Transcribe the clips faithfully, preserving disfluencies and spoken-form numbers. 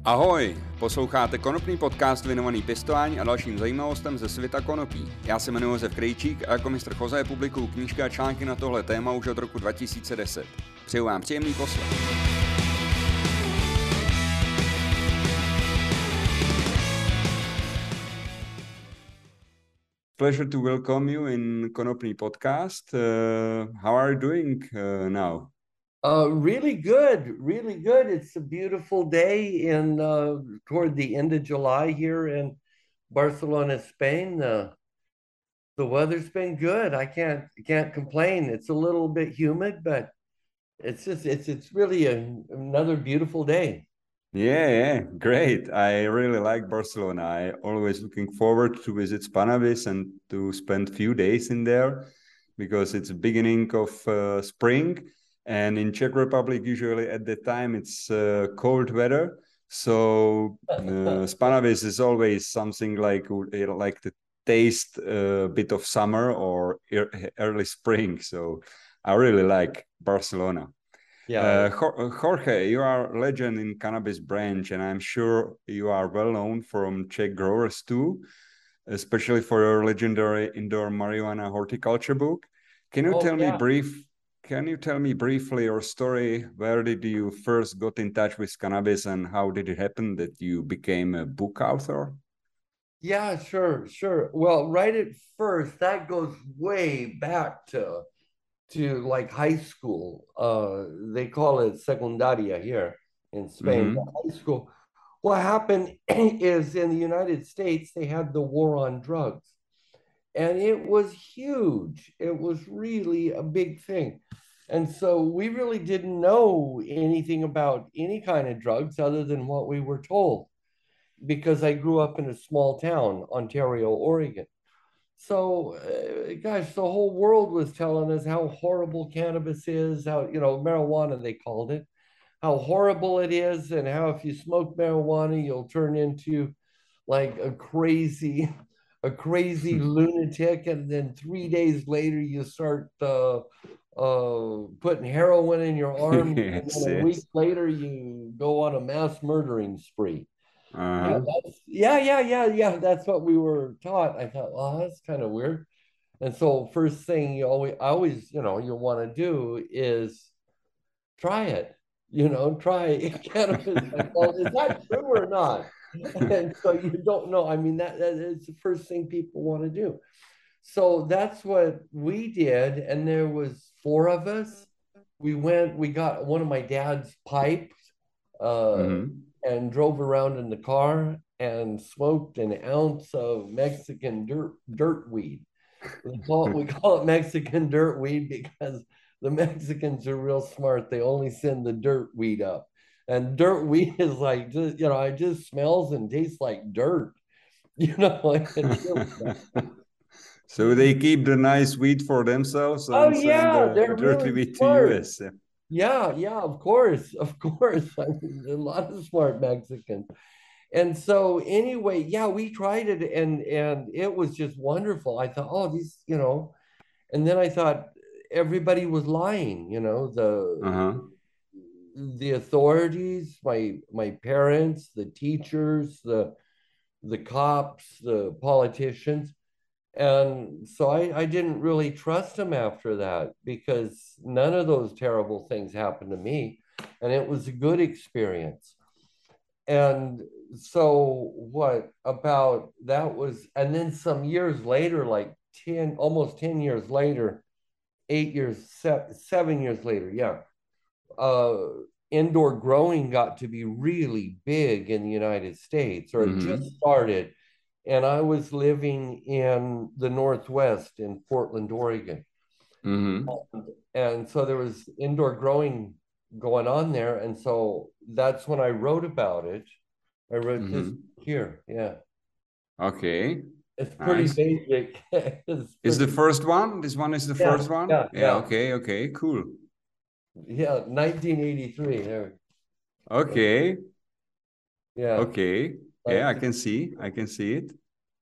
Ahoj, posloucháte konopný podcast věnovaný pěstování a dalším zajímavostem ze světa konopí. Já se jmenuji Josef Krejčík a jako mistr Choze publikuju knížky a články na tohle téma už od roku dva tisíce deset. Přeju vám příjemný poslech. Pleasure to welcome you in Konopný podcast. Uh, how are you doing uh, now? Uh, really good, really good. It's a beautiful day in uh, toward the end of July here in Barcelona, Spain. Uh, the weather's been good. I can't can't complain. It's a little bit humid, but it's just it's it's really a, another beautiful day. Yeah, yeah, great. I really like Barcelona. I always looking forward to visit Spanavis and to spend few days in there because it's the beginning of uh, spring. And in Czech Republic, usually at that time, it's uh, cold weather. So uh, Spanavis is always something like like to taste a bit of summer or early spring. So I really like Barcelona. Yeah. Uh, Jorge, you are a legend in cannabis branch, and I'm sure you are well known from Czech growers too, especially for your legendary indoor marijuana horticulture book. Can you Oh, tell yeah. me brief? Can you tell me briefly your story? Where did you first got in touch with cannabis and how did it happen that you became a book author? Yeah, sure, sure. Well, right at first, that goes way back to to like high school. Uh, they call it secundaria here in Spain. Mm-hmm. High school. What happened is in the United States, they had the war on drugs. And it was huge. It was really a big thing. And so we really didn't know anything about any kind of drugs other than what we were told, because I grew up in a small town, Ontario, Oregon. So, uh, gosh, the whole world was telling us how horrible cannabis is, how, you know, marijuana, they called it, how horrible it is, and how if you smoke marijuana, you'll turn into like a crazy a crazy lunatic, and then three days later you start uh, uh, putting heroin in your arm, Yes, and then a yes. week later you go on a mass murdering spree. Uh-huh. Yeah, that's, yeah, yeah, yeah, yeah. That's what we were taught. I thought, well, that's kind of weird. And so first thing you always, I always, you know, you want to do is try it. You know, try cannabis. Like, well, is that true or not? And so you don't know. I mean, that, that is the first thing people want to do. So that's what we did. And there was four of us. We went, we got one of my dad's pipes uh, Mm-hmm. and drove around in the car and smoked an ounce of Mexican dirt dirt weed. We call it, we call it Mexican dirt weed because the Mexicans are real smart. They only send the dirt weed up. And dirt weed is like, just, you know, it just smells and tastes like dirt. You know, like it's really So they keep the nice weed for themselves and oh send yeah, the they're dirty really weed to smart. U S. Yeah, yeah, of course, of course. I mean, a lot of smart Mexicans. And so anyway, yeah, we tried it and and it was just wonderful. I thought, oh, these, you know, and then I thought everybody was lying, you know, the Uh-huh. the authorities, my my parents, the teachers, the the cops, the politicians. And so I, I didn't really trust them after that because none of those terrible things happened to me. And it was a good experience. And so what about that was, and then some years later, like ten, almost ten years later, eight years, seven, seven years later, yeah, uh, indoor growing got to be really big in the United States, or it Mm-hmm. just started. And I was living in the Northwest in Portland, Oregon. Mm-hmm. And so there was indoor growing going on there. And so that's when I wrote about it. I wrote Mm-hmm. this here. Yeah. Okay. It's pretty Nice. basic. It's Is the pretty, first one? This one is the yeah, first one? yeah, Yeah, yeah. okay, okay, cool. Yeah, nineteen eighty-three. There. Okay, Yeah. okay. Yeah, I nineteen can see. I can see it.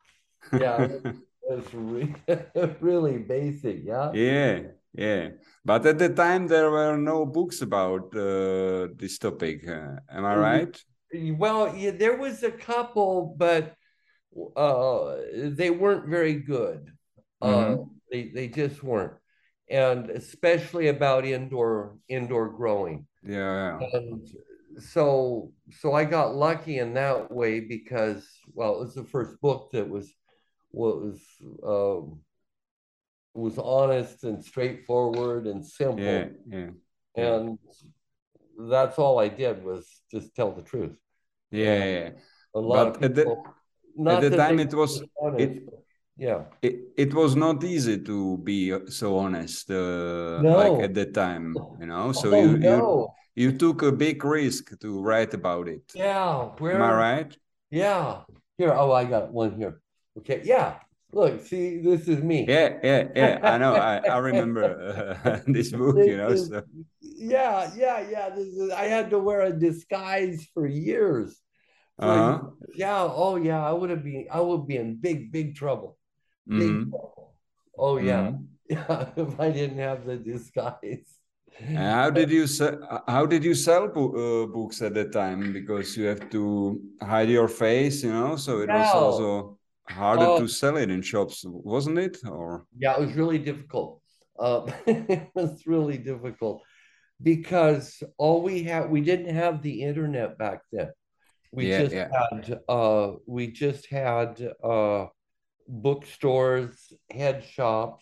Yeah, it's re really basic. Yeah. Yeah, yeah. But at the time, there were no books about uh, this topic. Uh, am I right? Well, yeah, there was a couple, but uh, they weren't very good. Uh, Mm-hmm. they they just weren't, and especially about indoor indoor growing. Yeah, And so so I got lucky in that way because, well, it was the first book that was was um, was honest and straightforward and yeah, simple, yeah, yeah, and that's all I did was just tell the truth. yeah, And yeah. a lot of But at the people, at not the that time they it was were honest, it but yeah. it, it was not easy to be so honest, uh, like at No. the time, you know. So Oh you you no. you took a big risk to write about it. Yeah. Am I Where? right? Yeah. Here. Oh, I got one here. Okay. Yeah. Look, see, this is me. Yeah, yeah, yeah. I know. I I remember uh, this book, This you know. is, So yeah, yeah, yeah. This is, I had to wear a disguise for years. For uh-huh. yeah, oh yeah, I would have been, I would be in big, big trouble. Big Mm-hmm. trouble. Oh yeah. Mm-hmm. Yeah, if I didn't have the disguise. And how did you se- how did you sell bo- uh, books at that time? Because you have to hide your face, you know. So it was Now, also harder uh, to sell it in shops, wasn't it? Or yeah, it was really difficult. Uh, it was really difficult because all we had, we didn't have the internet back then. We yeah, just yeah. had, uh, we just had uh, bookstores, head shops,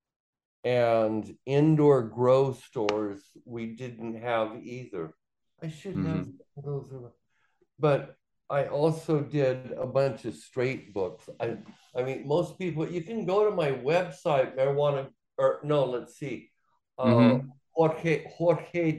and indoor grow stores. We didn't have either. I should have Mm-hmm. those, but I also did a bunch of straight books. I, I mean, most people, you can go to my website, marijuana, or no, let's see, uh, Mm-hmm. Jorge, Jorge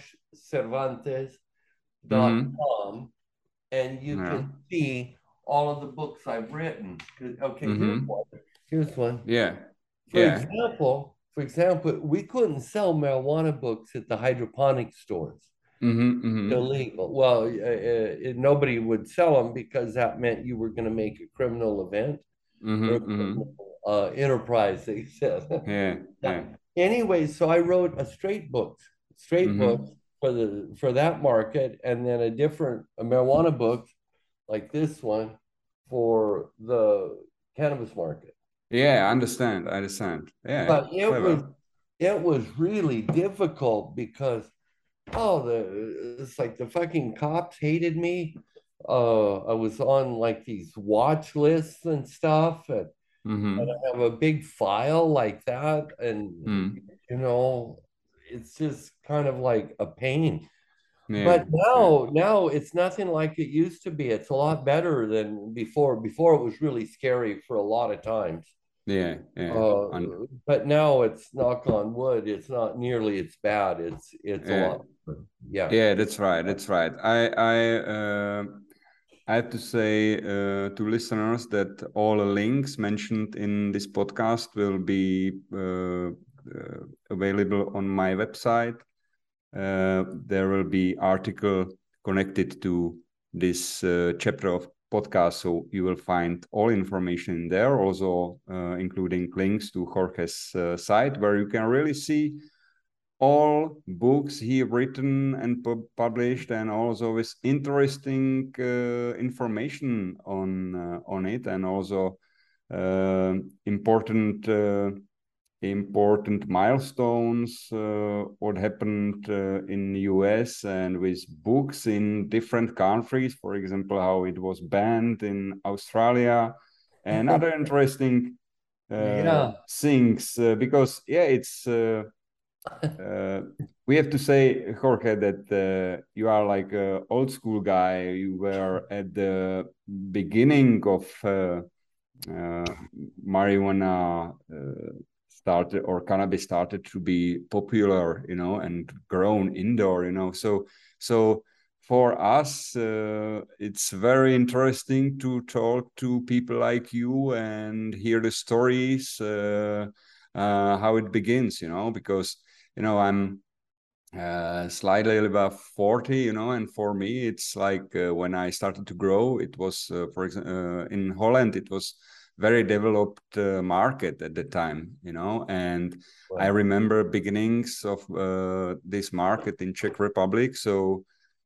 Cervantes dot Mm-hmm. com, and you Yeah. can see all of the books I've written. Okay, here's Mm-hmm. one. Here's one. Yeah. For Yeah. example, for example, we couldn't sell marijuana books at the hydroponic stores. Mm-hmm. Mm-hmm. Illegal. Well, uh, uh, nobody would sell them because that meant you were going to make a criminal event or a Mm-hmm. Mm-hmm. criminal uh, enterprise, they said. Yeah. Yeah. Yeah. Anyway, so I wrote a straight book, straight book Mm-hmm. for the for that market, and then a different a marijuana book like this one for the cannabis market. Yeah. I understand. I understand. Yeah. But it was Clever. it was really difficult because oh, the it's like the fucking cops hated me. Uh, I was on like these watch lists and stuff, and, and Mm-hmm. I have a big file like that, and Mm. you know, it's just kind of like a pain. Yeah. But Yeah. now, now it's nothing like it used to be. It's a lot better than before. Before it was really scary for a lot of times. Yeah. Yeah. Uh, And but now it's knock on wood, it's not nearly as bad. It's it's a yeah. lot better. Yeah. Yeah. That's right. That's right. I I uh, I have to say uh, to listeners that all the links mentioned in this podcast will be uh, uh, available on my website. Uh, there will be article connected to this uh, chapter of podcast, so you will find all information there, also uh, including links to Jorge's uh, site, where you can really see all books he written and pu- published, and also with interesting uh, information on uh, on it, and also uh, important uh, important milestones, uh, what happened uh, in the U S and with books in different countries, for example, how it was banned in Australia, and other interesting uh, Yeah. things, uh, because yeah, it's uh, uh, we have to say, Jorge, that uh, you are like a old school guy. You were at the beginning of uh, uh, marijuana uh, started, or cannabis started to be popular, you know, and grown indoor, you know. So, so for us, uh, it's very interesting to talk to people like you and hear the stories, uh, uh, how it begins, you know, because you know I'm uh, slightly above forty, you know, and for me, it's like uh, when I started to grow, it was, uh, for example, uh, in Holland, it was very developed uh, market at the time, you know, and I Right. remember beginnings of uh, this market in Czech Republic. So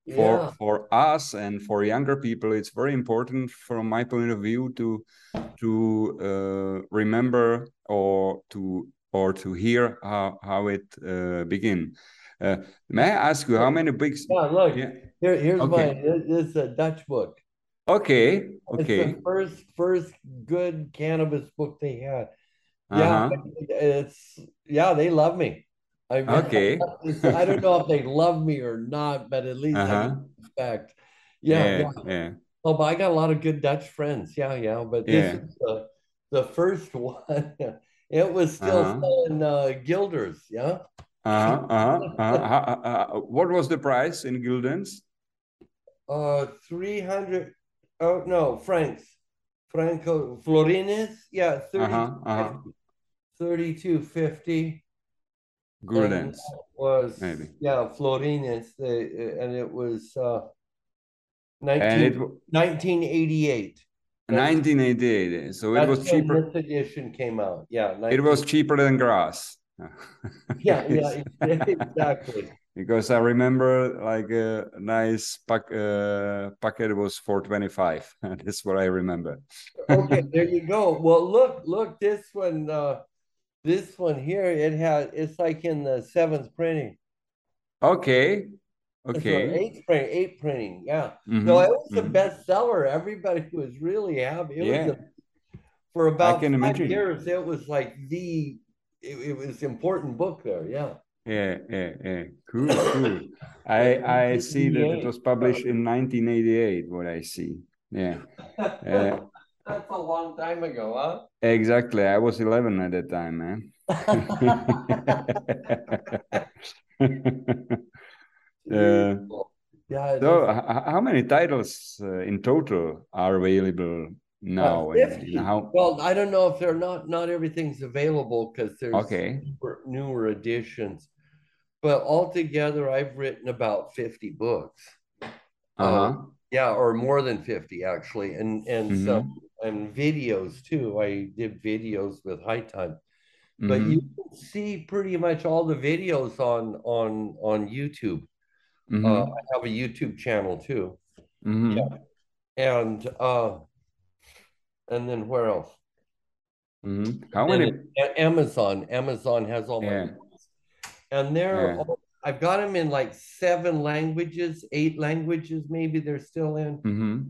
for Yeah. for us and for younger people, it's very important from my point of view to to uh, remember or to or to hear how how it uh, begin. Uh, may I ask you how many books? Yeah, look, Yeah. here, here's Okay. my, this is a Dutch book. Okay. It's Okay. the first, first good cannabis book they had. Yeah, Uh-huh. it's, yeah, they love me. I mean, Okay. it's, I don't know if they love me or not, but at least I get Uh-huh. respect. Yeah, Yeah. yeah. Yeah. Oh, but I got a lot of good Dutch friends. Yeah, yeah. But this Yeah. is the the first one. It was still Uh-huh. selling uh, guilders. Yeah. Uh-huh. Uh-huh. Uh-huh. Uh, uh, what was the price in guildens? Uh, three hundred. Oh no, francs. Franco florines. Yeah, thirty Uh-huh. Uh-huh. thirty-two fifty. And Guldens, that was, maybe. yeah, florines. They and it was uh And nineteen it was nineteen eighty eight. That's nineteen eighty-eight. So it that's was when cheaper. this edition came out. Yeah, It was nineteen. cheaper than grass. Yeah, yeah, exactly. Because I remember like a nice pack uh, packet was for twenty-five. That's what I remember. Okay, there you go. Well, look, look, this one, uh, this one here, it had, it's like in the seventh printing. Okay. It's or Okay. eighth print, eighth printing. Yeah. So it Mm-hmm. was a Mm-hmm. bestseller. Everybody was really happy. It was Yeah, a, for I about can five imagine. years, it was like the, it, it was important book there. Yeah. Yeah, yeah, yeah. Cool, cool. I I see that it was published in nineteen eighty-eight, what I see. Yeah. Uh, That's a long time ago, huh? exactly. I was eleven at that time, man. uh, Yeah, so, this how many titles uh, in total are available uh, now? And, and fifty. how? Well, I don't know if they're not not everything's available because there's Okay. newer, newer editions. But altogether, I've written about fifty books. Uh, Uh-huh. yeah, or more than fifty actually, and and some Mm-hmm. and videos too. I did videos with High Time, but you Mm-hmm. can see pretty much all the videos on on on YouTube. Uh, Mm-hmm. I have a YouTube channel too. Yeah, Mm-hmm. and uh, and then where else? Mm-hmm. And How then many? it, Amazon. Amazon has all my Yeah, books, and they're yeah. all, I've got them in like seven languages, eight languages, maybe they're still in. Mm-hmm.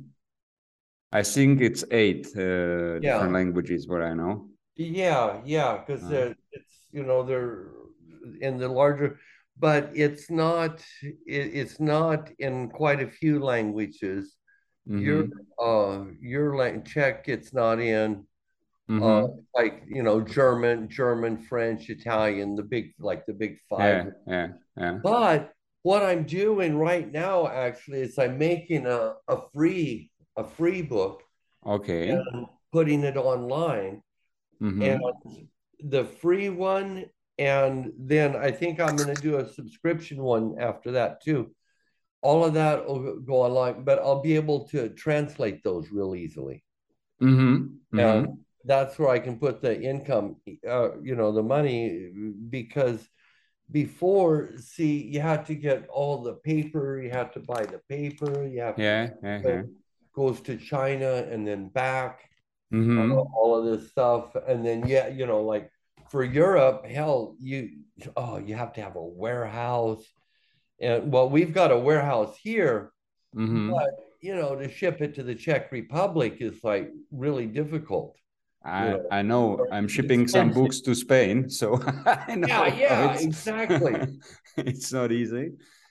I think it's eight uh, different Yeah, languages, what I know. yeah, yeah, because Uh, they're it's you know they're in the larger, but it's not it, it's not in quite a few languages. Your mm-hmm. uh your lang Czech it's not in uh Mm-hmm. like you know German, German, French, Italian, the big like the big five. Yeah, yeah, yeah. But what I'm doing right now actually is I'm making a, a free a free book Okay. and putting it online. And Mm-hmm. the free one, and then I think I'm going to do a subscription one after that too. All of that will go online, but I'll be able to translate those real easily. Mm-hmm. And Mm-hmm. that's where I can put the income, uh, you know, the money, because before, see, you had to get all the paper, you have to buy the paper, you have to, Yeah, yeah, yeah. it goes to China and then back, uh, Mm-hmm. all of this stuff. And then, yeah, you know, like for Europe, hell, you, oh, you have to have a warehouse. And well, we've got a warehouse here, Mm-hmm. but, you know, to ship it to the Czech Republic is like really difficult, you I know, I know I'm shipping some expensive. books to Spain, so I Yeah, know how yeah, it's exactly. it's not easy.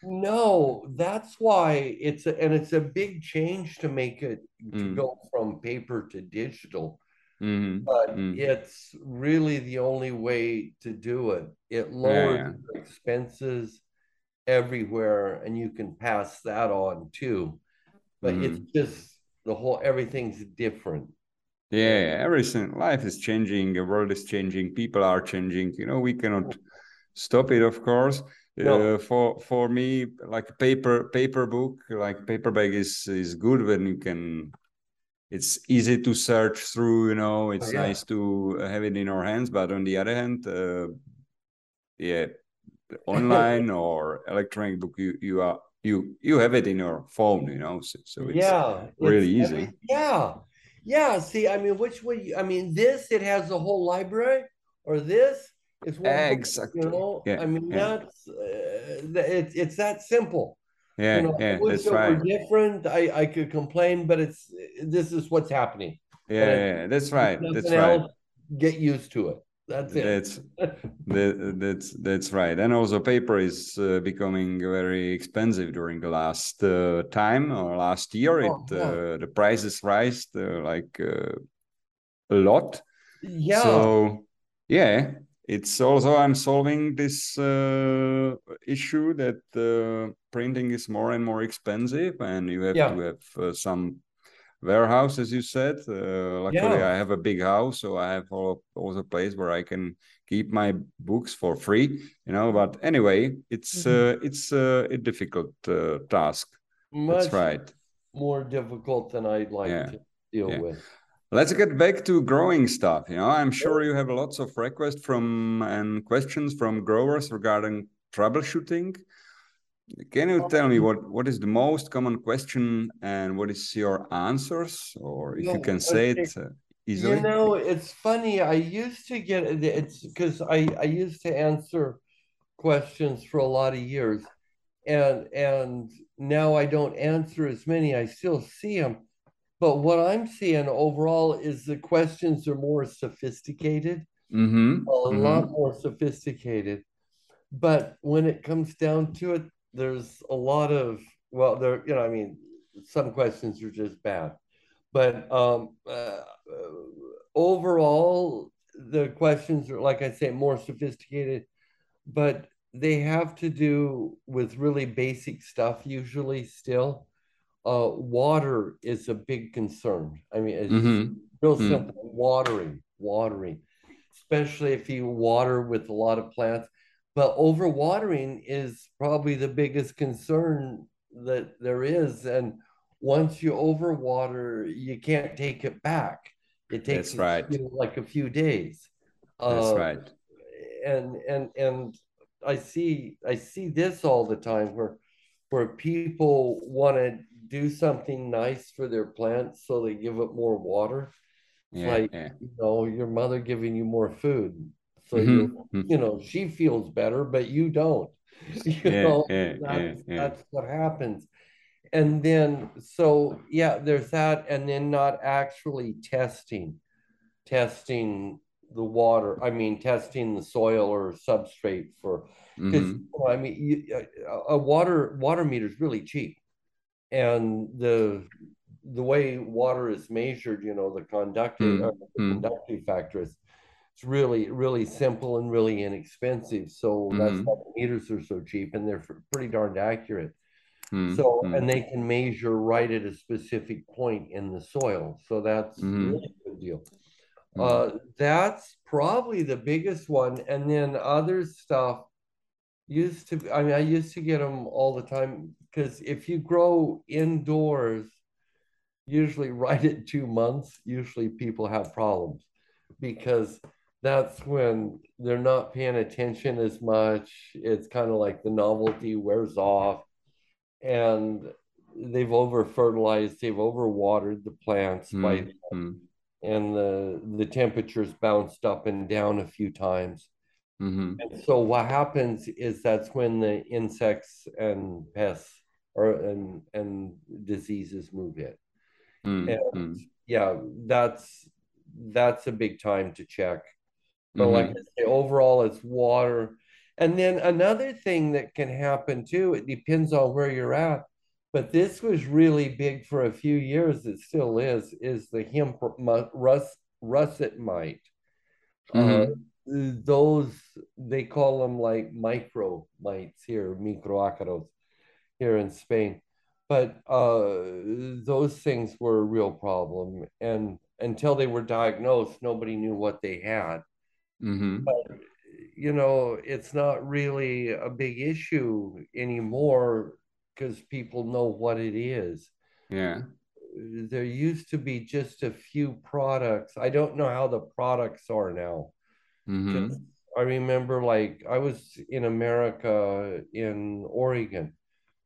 No, that's why it's a, and it's a big change to make it to Mm. go from paper to digital, Mm-hmm. but Mm. it's really the only way to do it. It Yeah, lowers yeah. expenses everywhere and you can pass that on too. But it's Mm. just the whole everything's different. Yeah, Yeah. yeah, everything. Life is changing. The world is changing. People are changing. You know, we cannot stop it, of course. No. Uh, for for me, like paper paper book, like paperback is is good when you can. It's easy to search through. You know, Oh, it's yeah. nice to have it in our hands. But on the other hand, uh, yeah, online or electronic book, you you are you you have it in your phone, you know, so, so it's Yeah, really it's easy. every, yeah, yeah. See, I mean, which way? You, I mean, this it has the whole library, or this is one book. You Exactly. know, Yeah, I mean, yeah, that's uh, th- it's it's that simple. You yeah, know, I yeah. wish That's it were right. different. I I could complain, but it's this is what's happening, Yeah, and yeah, it, yeah, that's if right. nothing That's right. else, get used to it. That's it. That's that, that's that's right. And also, paper is uh, becoming very expensive during the last uh, time or last year. It Oh yeah, uh, the prices rise uh, like uh, a lot. yeah, So yeah, it's also I'm solving this uh, issue that uh, printing is more and more expensive, and you have to yeah, have uh, some warehouse, as you said. Uh, luckily, yeah. I have a big house, so I have all, also a place where I can keep my books for free. You know, but anyway, it's uh, it's uh, a difficult uh, task. That's Much right. more difficult than I'd like Yeah, to deal yeah. with. Let's get back to growing stuff. You know, I'm sure you have lots of requests from and questions from growers regarding troubleshooting. Can you tell me what, what is the most common question and what is your answers, or if you can No, say it okay. uh, You easily? know, it's funny. I used to get it's because I I used to answer questions for a lot of years, and and now I don't answer as many. I still see them, but what I'm seeing overall is the questions are more sophisticated, Mm-hmm. a lot Mm-hmm. more sophisticated. But when it comes down to it, there's a lot of, well, there, you know, I mean, some questions are just bad. But um, uh, overall, the questions are, like I say, more sophisticated, but they have to do with really basic stuff usually still. Uh, water is a big concern. I mean, it's just real Mm-hmm. simple. Watering, watering, especially if you water with a lot of plants. But overwatering is probably the biggest concern that there is. And once you overwater, you can't take it back. It takes That's you right. know, like a few days. That's Uh, right. and and and I see I see this all the time where where people want to do something nice for their plants, so they give it more water. It's Yeah, like, yeah. you know, your mother giving you more food. So you, Mm-hmm. you know, she feels better, but you don't. You Yeah, know, yeah, yeah, that's yeah. that's what happens. And then so yeah, there's that, and then not actually testing, testing the water. I mean, testing the soil or substrate for, because you Mm-hmm. know, I mean, you, a water water meter is really cheap, and the the way water is measured, you know, the conductive uh, the Mm-hmm. conductive factor is it's really really simple and really inexpensive. So that's why Mm-hmm. the meters are so cheap, and they're pretty darned accurate. So, Mm-hmm. and they can measure right at a specific point in the soil. So that's Mm-hmm. really a good deal. Mm-hmm. Uh, that's probably the biggest one. And then other stuff used to, I mean, I used to get them all the time because if you grow indoors, usually right at two months, usually people have problems because that's when they're not paying attention as much. It's kind of like the novelty wears off, and they've over fertilized, they've over watered the plants by, Mm-hmm. and the the temperatures bounced up and down a few times. Mm-hmm. And so what happens is that's when the insects and pests or and and diseases move in. And Mm-hmm. yeah, that's that's a big time to check. But like Mm-hmm. I say, overall it's water. And then another thing that can happen too, it depends on where you're at. But this was really big for a few years, it still is, is the hemp rust russet mite. Uh, Mm-hmm. those they call them like micro mites here, microácaros here in Spain. But uh, those things were a real problem, and until they were diagnosed, nobody knew what they had. Mm-hmm. But you know, it's not really a big issue anymore because people know what it is. Yeah. There used to be just a few products. I don't know how the products are now. Because Mm-hmm. I remember, like, I was in America in Oregon,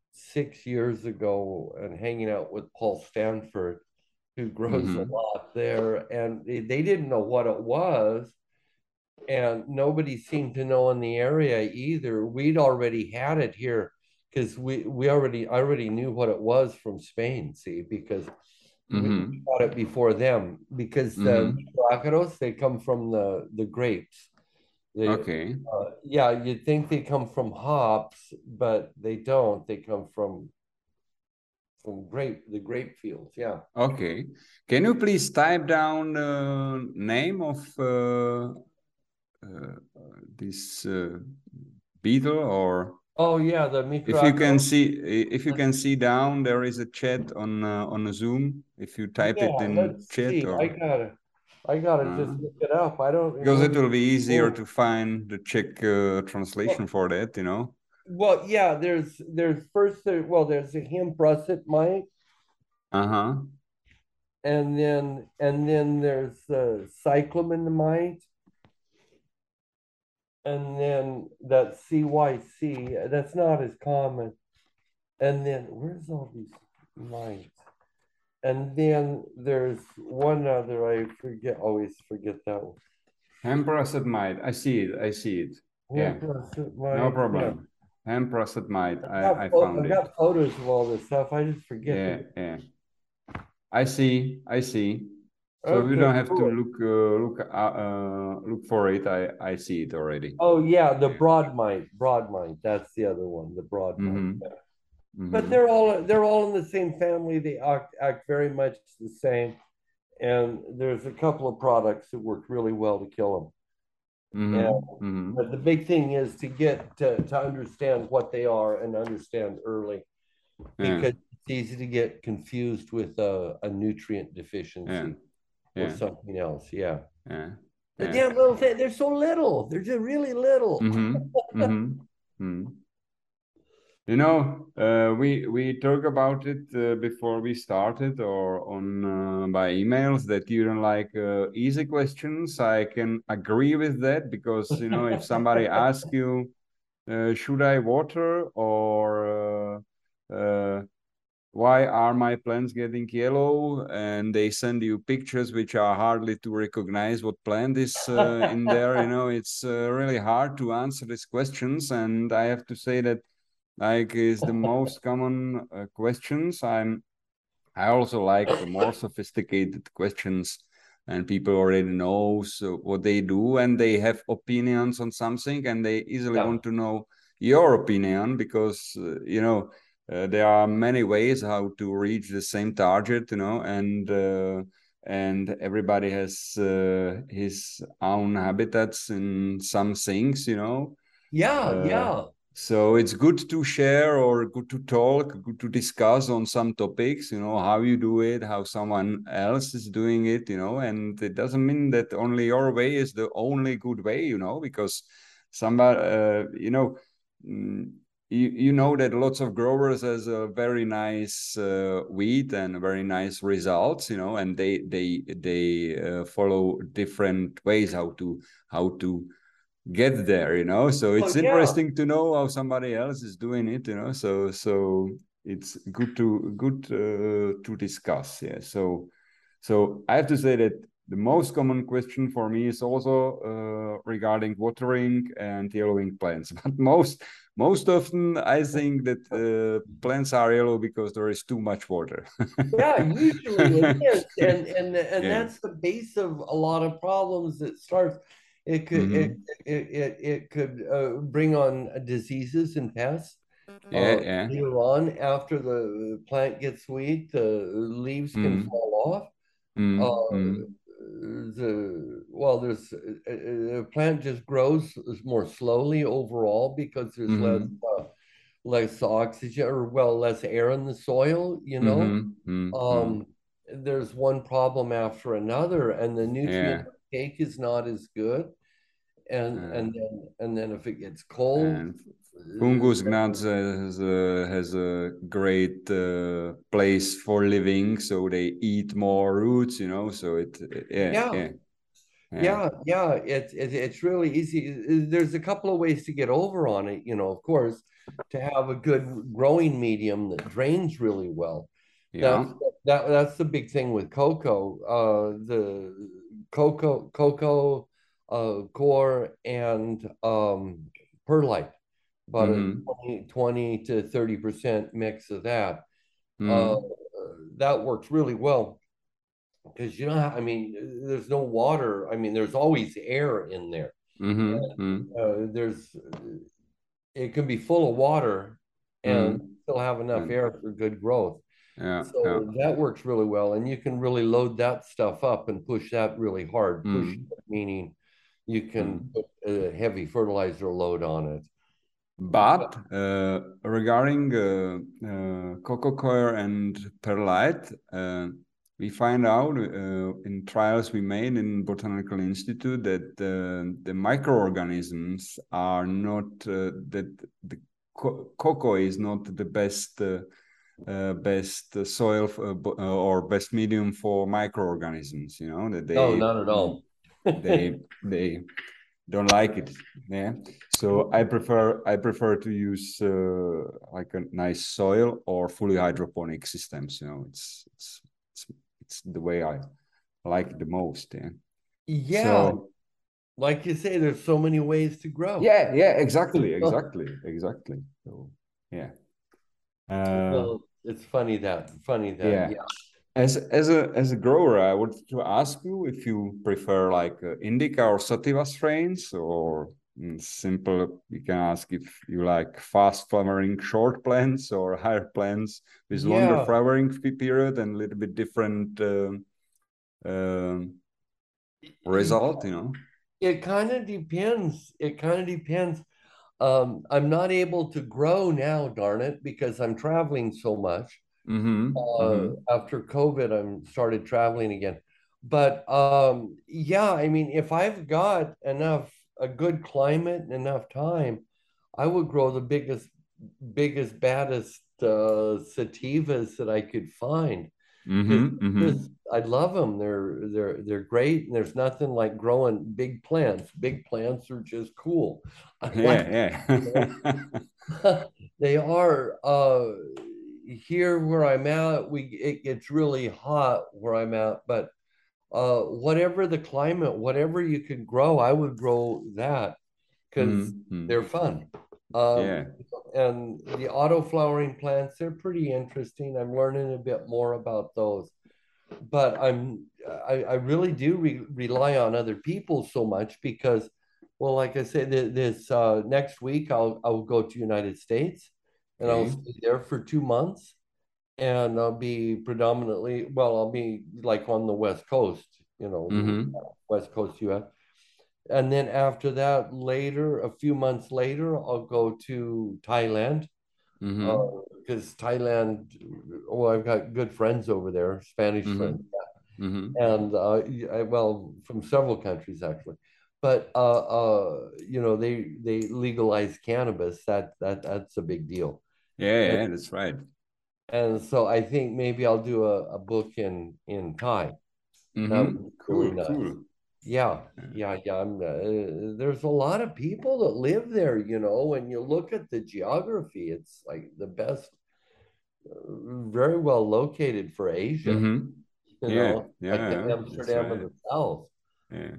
six years ago and hanging out with Paul Stanford, who grows a Mm-hmm. lot there, and they, they didn't know what it was, and nobody seemed to know in the area either. We'd already had it here because we we already I already knew what it was from Spain. See, because we, we Mm-hmm. got it before them. Because the Mm-hmm. microácaros, they come from the the grapes. They, Okay. uh, yeah, you'd think they come from hops, but they don't. They come from from grape the grape fields. Yeah. Okay. Can you please type down the name of uh, uh, this uh, beetle, or Oh yeah, the if you can microácaros. see if you can see down, there is a chat on uh, on a Zoom. If you type Yeah, it in let's chat, see. I or gotta I gotta uh, just look it up. I don't because it remember. will be easier Oh, to find the Czech uh, translation well, for that, you know. well, yeah. There's there's first there. Well, there's a hemp russet mite, Uh-huh. and then and then there's the cyclamen mite, and then that C Y C. That's not as common. And then where's all these mites? And then there's one other. I forget. Always forget that one. Hemp mite. I see it. I see it. Yeah. Hemp russet No mite. Yeah. problem. Hemp mite. I've I got, I pho- found I've it. got photos of all this stuff. I just forget Yeah, the. yeah. I see. I see. So you Okay, don't have to cool. look uh, look uh, uh, look for it. I I see it already. Oh yeah, the Yeah. broad mite. Broad mite. That's the other one. The broad mite. Mm-hmm. Yeah. But Mm-hmm. they're all they're all in the same family. They act, act very much the same. And there's a couple of products that work really well to kill them. And Mm-hmm. Mm-hmm. but the big thing is to get to, to understand what they are and understand early, Yeah. because it's easy to get confused with a, a nutrient Yeah. deficiency or Yeah. something else. Yeah. Yeah. The Yeah. damn little thing, they're so little. They're just really little. Mm-hmm. Mm-hmm. Mm-hmm. You know, uh, we we talk about it uh, before we started, or on uh, by emails, that you don't like uh, easy questions. I can agree with that, because you know, if somebody asks you, uh, should I water, or uh, uh, why are my plants getting yellow, and they send you pictures which are hardly to recognize what plant is uh, in there, you know, it's uh, really hard to answer these questions. And I have to say that, like, is the most common uh, questions. I'm I also like more sophisticated questions, and people already know so what they do, and they have opinions on something, and they easily Yeah. want to know your opinion, because uh, you know, uh, there are many ways how to reach the same target, you know, and uh, and everybody has uh, his own habitats in some things, you know. Yeah. Uh, Yeah. so it's good to share, or good to talk, good to discuss on some topics, you know, how you do it, how someone else is doing it, you know, and it doesn't mean that only your way is the only good way, you know, because somebody, uh, you know, mm, you, you know that lots of growers has a very nice uh, wheat and very nice results, you know, and they they they uh, follow different ways how to how to get there, you know. So Oh it's yeah. interesting to know how somebody else is doing it, you know. So so it's good to good uh, to discuss. Yeah. So so I have to say that the most common question for me is also uh, regarding watering and yellowing plants. But most most often I think that uh, plants are yellow because there is too much water. Yeah, usually it is, and and and Yeah. that's the base of a lot of problems that starts. It could it Mm-hmm. it it, it could uh, bring on diseases and pests. Yeah. Uh, Yeah. later on, after the plant gets weak, the leaves can Mm-hmm. fall off. Uh, Mm-hmm. the well, there's a, a plant just grows more slowly overall because there's less Mm-hmm. uh, less oxygen, or well, less air in the soil, you know. Mm-hmm. Mm-hmm. Um, there's one problem after another, and the nutrient Yeah. uptake is not as good. And Uh, and then and then if it gets cold, and Fungus uh, gnats has a, has a great uh, place for living, so they eat more roots, you know. So it, yeah, yeah, yeah. Yeah, yeah, it's it, it's really easy. There's a couple of ways to get over on it, you know, of course, to have a good growing medium that drains really well. Yeah. That's that that's the big thing with cocoa. Uh, the cocoa cocoa uh, core and um, perlite, about a Mm-hmm. twenty twenty to thirty percent mix of that. Uh, Mm-hmm. that works really well because you know, I mean, there's no water. I mean, there's always air in there. Mm-hmm. Uh, there's it can be full of water and Mm-hmm. still have enough And air for good growth. yeah, yeah. So that works really well, and you can really load that stuff up and push that really hard. Push Mm-hmm. meaning you can Mm-hmm. put a heavy fertilizer load on it. But uh, regarding uh, uh, cocoa coir and perlite, uh, we find out uh, in trials we made in Botanical Institute that uh, the microorganisms are not uh, that the co cocoa is not the best uh, uh, best soil uh, or best medium for microorganisms. You know that No, they not at all. they they don't like it. Yeah. So I prefer I prefer to use uh, like a nice soil or fully hydroponic systems. You know, it's it's it's, it's the way I like it the most. Yeah. Yeah, So like you say, there's so many ways to grow. yeah, yeah, exactly, exactly, exactly. So yeah. Uh, Well, it's funny that funny that yeah. yeah. As as a as a grower, I would to ask you if you prefer like uh, indica or sativa strains, or mm, simple. You can ask if you like fast flowering short plants or higher plants with longer Yeah, flowering period and a little bit different uh, um result. You know. it kind of depends. It kind of depends. Um, I'm not able to grow now, darn it, because I'm traveling so much. Mm-hmm. Uh, Mm-hmm. after COVID, I'm started traveling again. But um, yeah, I mean, if I've got enough, a good climate and enough time, I would grow the biggest, biggest, baddest uh, sativas that I could find. Because Mm-hmm. Mm-hmm. just, I love them. They're they're they're great, and there's nothing like growing big plants. Big plants are just cool. I like Yeah. them. Yeah. They are uh here where I'm at, we it gets really hot where I'm at, but uh whatever the climate, whatever you can grow, I would grow that because Mm-hmm. they're fun. Um Yeah. and the auto flowering plants, they're pretty interesting. I'm learning a bit more about those. But I'm I, I really do re rely on other people so much because, well, like I said, th this uh, next week I'll I'll go to United States and I'll Okay. stay there for two months and I'll be predominantly, well, I'll be like on the West Coast, you know, Mm-hmm. West Coast U S. And then after that, later, a few months later, I'll go to Thailand Mm-hmm. because Thailand, well, I've got good friends over there, Spanish friends, Mm-hmm. Mm-hmm. and uh, I, well, from several countries actually. But uh, uh, you know, they they legalize cannabis. That that that's a big deal. Yeah, And yeah, that's right. and so I think maybe I'll do a, a book in in Thai. That would Mm-hmm. be really Cool, nice. cool. Yeah, Yeah. yeah, yeah. I'm, uh, there's a lot of people that live there, you know. When you look at the geography, it's like the best, uh, very well located for Asia. Mm-hmm. You Yeah, know, like the yeah, that's Amsterdam of right. the South. Yeah.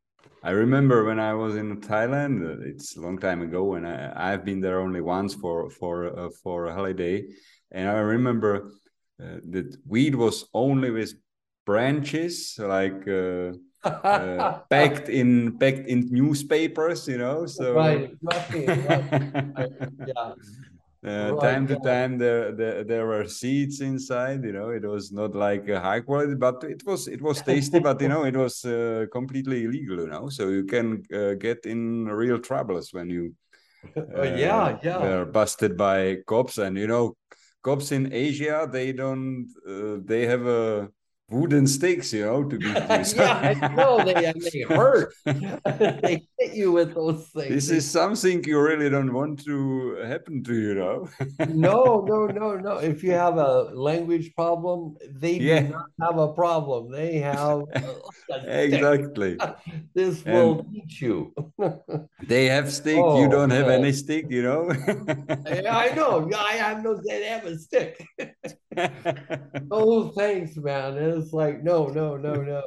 I remember when I was in Thailand, uh, it's a long time ago, and I, I've been there only once for for uh, for a holiday, and I remember uh, that weed was only with branches, like uh, uh, packed in packed in newspapers, you know. So Right, right, right. I, yeah, uh, right. time to Yeah, time there, there there were seeds inside, you know. It was not like a high quality, but it was it was tasty, but you know it was uh, completely illegal, you know, so you can uh, get in real troubles when you oh, uh, yeah, yeah. were busted by cops. And you know, cops in Asia, they don't uh, they have a wooden sticks, you know, to beat you. Yeah, I know they and they hurt. They hit you with those things. This They, is something you really don't want to happen to, you know. no, no, no, no. If you have a language problem, they do Yeah, not have a problem. They have uh, like a stick. exactly. This will And teach you. they have stick, you Oh don't have man. any stick, you know. Yeah, I know. Yeah, I have no. They have a stick. Oh, thanks, man. And it's like, no, no, no, no.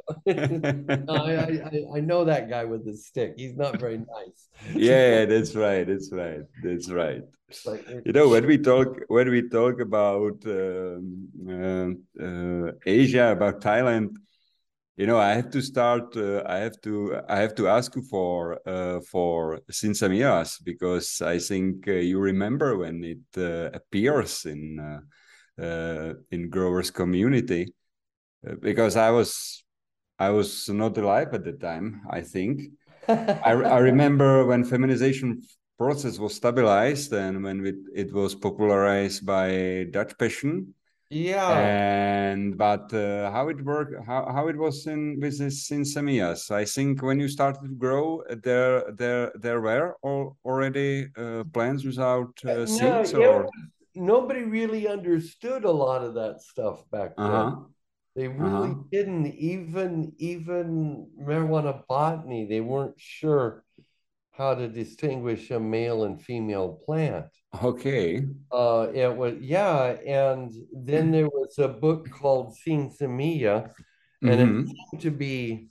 I, I, I know that guy with the stick. He's not very nice. Yeah, that's right. That's right. That's right. Like, You know, when we talk when we talk about um, uh, uh, Asia, about Thailand, you know, I have to start. Uh, I have to. I have to ask you for uh, for Sinsamiras, because I think uh, you remember when it uh, appears in uh, uh, in growers community, uh, because I was I was not alive at the time, I think. I, I remember when feminization process was stabilized and when it, it was popularized by Dutch Passion. yeah. And but uh, how it worked, how, how it was in with this in Samias. I think when you started to grow, there there there were all, already uh, plants without uh, No, seeds, it or was, nobody really understood a lot of that stuff back uh then. huh, They uh huh. really didn't. Even even marijuana botany, they weren't sure how to distinguish a male and female plant. Okay. Uh, it was, yeah, and then there was a book called Sinsemilla, and it Mm-hmm. seemed to be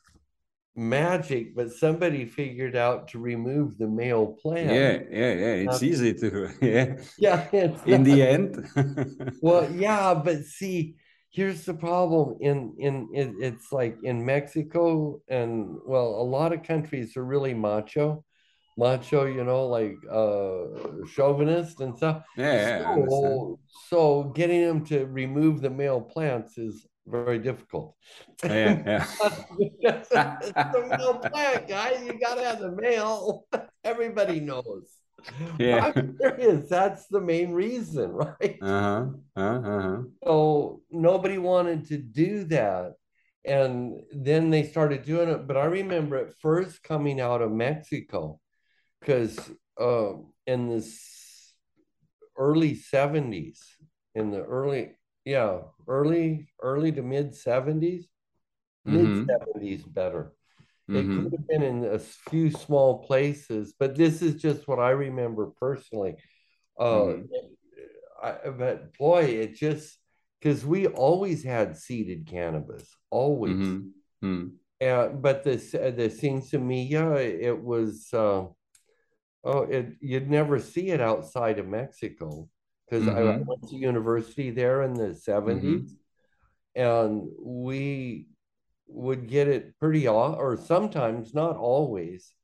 magic, but somebody figured out to remove the male plant. Yeah, yeah, yeah. It's Not, easy to yeah. yeah, it's In not. the end. Well, yeah, but see, here's the problem. In in it, it's like in Mexico and well, a lot of countries are really macho, macho, you know, like uh chauvinist and stuff. Yeah, yeah, I understand. So so getting them to remove the male plants is very difficult. Yeah, Because it's the yeah. male plant, guys. You gotta have the male. Everybody knows. Yeah. I'm serious. That's the main reason, right? Uh-huh. Uh-huh. So nobody wanted to do that. And then they started doing it. But I remember it first coming out of Mexico because uh, in this early seventies, in the early, yeah, early, early to mid seventies, mid Mm-hmm. seventies better. It could Mm-hmm. have been in a few small places, but this is just what I remember personally. Uh, Mm-hmm. I, but boy, it just because we always had seeded cannabis, always. Mm-hmm. Mm-hmm. And but the the Sinsemilla, it was uh, oh, it you'd never see it outside of Mexico because I, I Mm-hmm. went to university there in the Mm-hmm. seventies, and we would get it pretty off, or sometimes not always,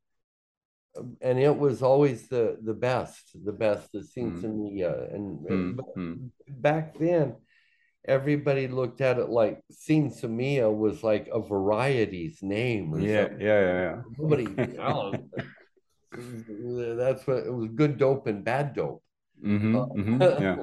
and it was always the the best, the best, the Sinsemilla, and but Mm-hmm. back then everybody looked at it like Sinsemilla was like a variety's name or Yeah, something. yeah, Nobody, yeah, oh, that's what it was, good dope and bad dope. Mm-hmm. Mm-hmm. Uh, Yeah.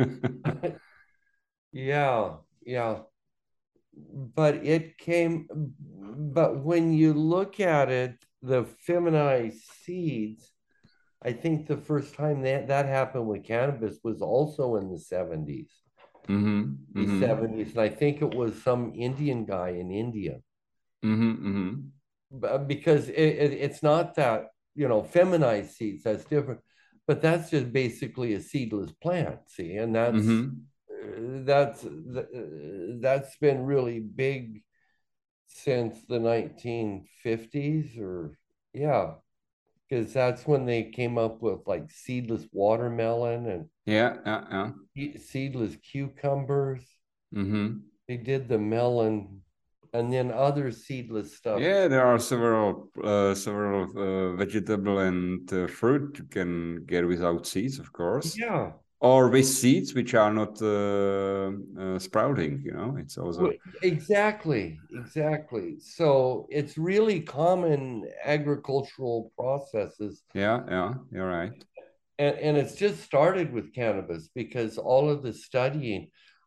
yeah, yeah. But it came, but when you look at it, the feminized seeds, I think the first time that that happened with cannabis was also in the seventies, Mm-hmm. the Mm-hmm. seventies. And I think it was some Indian guy in India. Mm-hmm. Mm-hmm. Because it, it, it's not that, you know, feminized seeds, that's different, but that's just basically a seedless plant, see, and that's Mm-hmm. uh, that's uh, that's been really big since the nineteen fifties, or yeah, because that's when they came up with like seedless watermelon Yeah, yeah, yeah. and seedless cucumbers. Mm-hmm. They did the melon and then other seedless stuff. Yeah, there are several uh, several uh, vegetable and uh, fruit you can get without seeds, of course, Yeah. or with seeds which are not uh, uh, sprouting. You know, it's also Exactly, exactly. So it's really common agricultural processes. yeah, yeah. You're right. And, and it's just started with cannabis because all of the studying.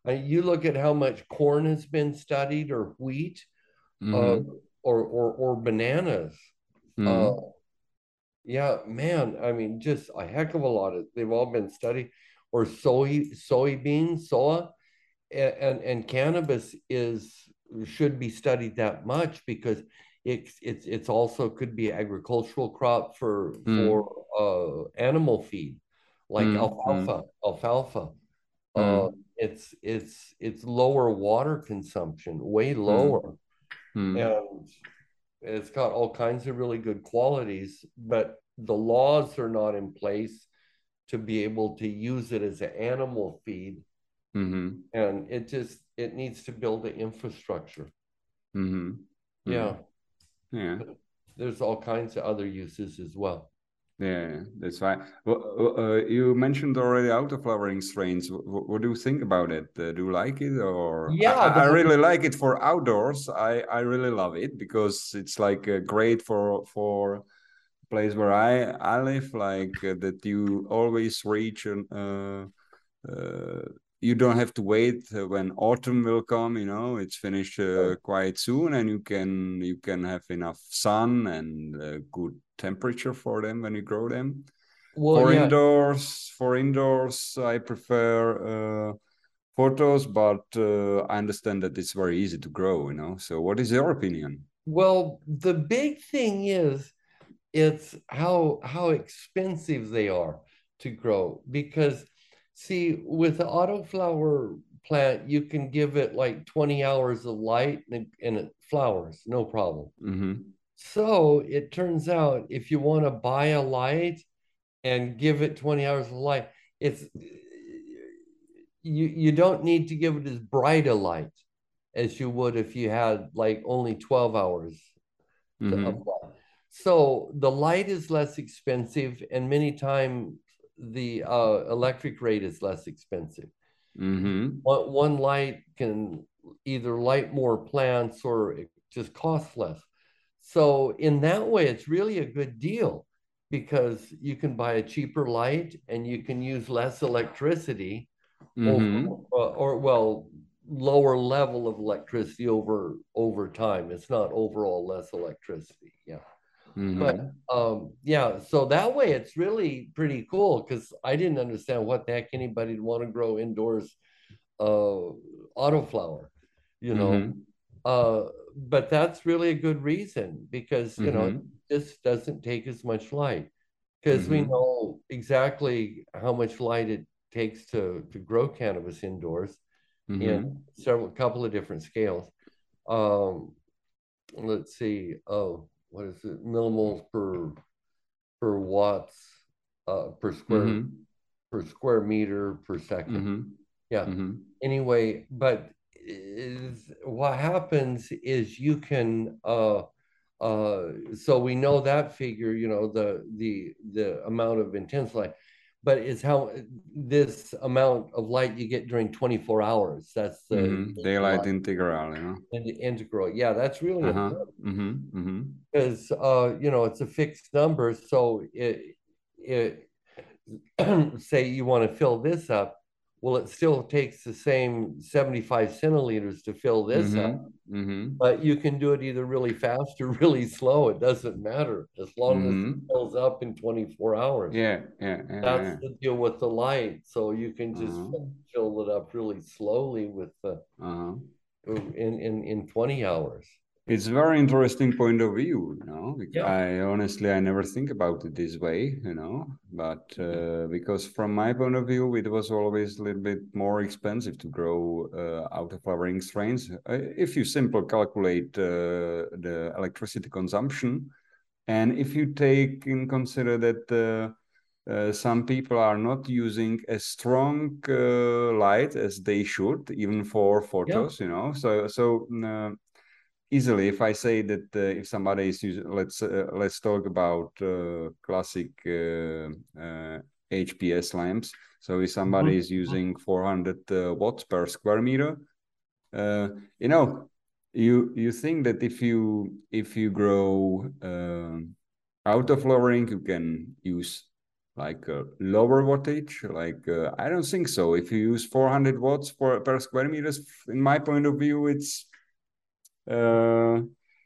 Uh, you look at how much corn has been studied, or wheat, uh, Mm-hmm. or, or or bananas. Uh, Mm-hmm. yeah, man. I mean, just a heck of a lot of. They've all been studied, or soy, soybeans, soya, and, and and cannabis is should be studied that much because it's it's it's also could be agricultural crop for for Mm-hmm. uh animal feed, like Mm-hmm. alfalfa, alfalfa. Uh, Mm-hmm. it's it's it's lower water consumption, way Mm-hmm. lower, Mm-hmm. and it's got all kinds of really good qualities, but the laws are not in place to be able to use it as an animal feed, Mm-hmm. and it just it needs to build the infrastructure. Mm-hmm. Yeah, Yeah. there's all kinds of other uses as well. Yeah, that's fine. Well, uh, you mentioned already auto-flowering strains. What, what do you think about it? Uh, do you like it, or I, Yeah, I the I one, really like it for outdoors. I, I really love it because it's like uh, great for for place where I I live. Like uh, that you always reach an uh, uh, you don't have to wait uh, when autumn will come. You know, it's finished uh, quite soon, and you can you can have enough sun and uh, good temperature for them when you grow them. well, For yeah, indoors, for indoors, I prefer uh, photos, but uh, I understand that it's very easy to grow. You know, so what is your opinion? well, the big thing is it's how how expensive they are to grow, because see, with the autoflower plant you can give it like twenty hours of light and, and it flowers no problem. Mm-hmm. So it turns out if you want to buy a light and give it twenty hours of light, it's you you don't need to give it as bright a light as you would if you had like only twelve hours to Mm-hmm. apply. So the light is less expensive, and many times the uh, electric rate is less expensive. Mm-hmm. One, one light can either light more plants or it just costs less. So in that way, it's really a good deal because you can buy a cheaper light and you can use less electricity over, Mm-hmm. uh, or well, lower level of electricity over over time. It's not overall less electricity. Yeah. But Mm-hmm. um, yeah, so that way it's really pretty cool because I didn't understand what the heck anybody'd want to grow indoors uh, autoflower, you know. Mm-hmm. Uh, but that's really a good reason because, you know, it Mm-hmm. just doesn't take as much light because we Mm-hmm. know exactly how much light it takes to, to grow cannabis indoors in Mm-hmm. several couple of different scales. Um, let's see. Oh, what is it? Millimoles per per watts uh, per square Mm-hmm. per square meter per second. Mm-hmm. Yeah. Mm-hmm. Anyway, but is what happens is you can uh uh so we know that figure, you know, the the the amount of intense light, but it's how this amount of light you get during twenty-four hours. That's the, Mm-hmm. the Daylight light integral, you know. and the integral. Yeah, that's really Uh-huh. important Mm-hmm. Mm-hmm. because uh you know it's a fixed number. So it it say you want to fill this up, well, it still takes the same seventy-five centiliters to fill this up, Mm-hmm. Mm-hmm. but you can do it either really fast or really slow. It doesn't matter as long as it Mm-hmm. fills up in twenty-four hours. Yeah, yeah, yeah, That's yeah. the deal with the light. So you can just Uh-huh. fill it up really slowly with the Uh-huh. in in in twenty hours. It's a very interesting point of view, you know. Yeah. I honestly I never think about it this way, you know. But uh, because from my point of view, it was always a little bit more expensive to grow uh, out of flowering strains. Uh, if you simply calculate uh, the electricity consumption, and if you take in consider that uh, uh, some people are not using as strong uh, light as they should, even for Yeah. photos, you know. So so. Uh, easily if I say that uh, if somebody is using, let's uh, let's talk about uh, classic uh, uh, H P S lamps. So if somebody Mhm. is using four hundred uh, watts per square meter, uh, you know, you you think that if you if you grow uh, out of flowering, you can use like a lower wattage? Like uh, I don't think so. If you use four hundred watts for per square meters, in my point of view, it's uh,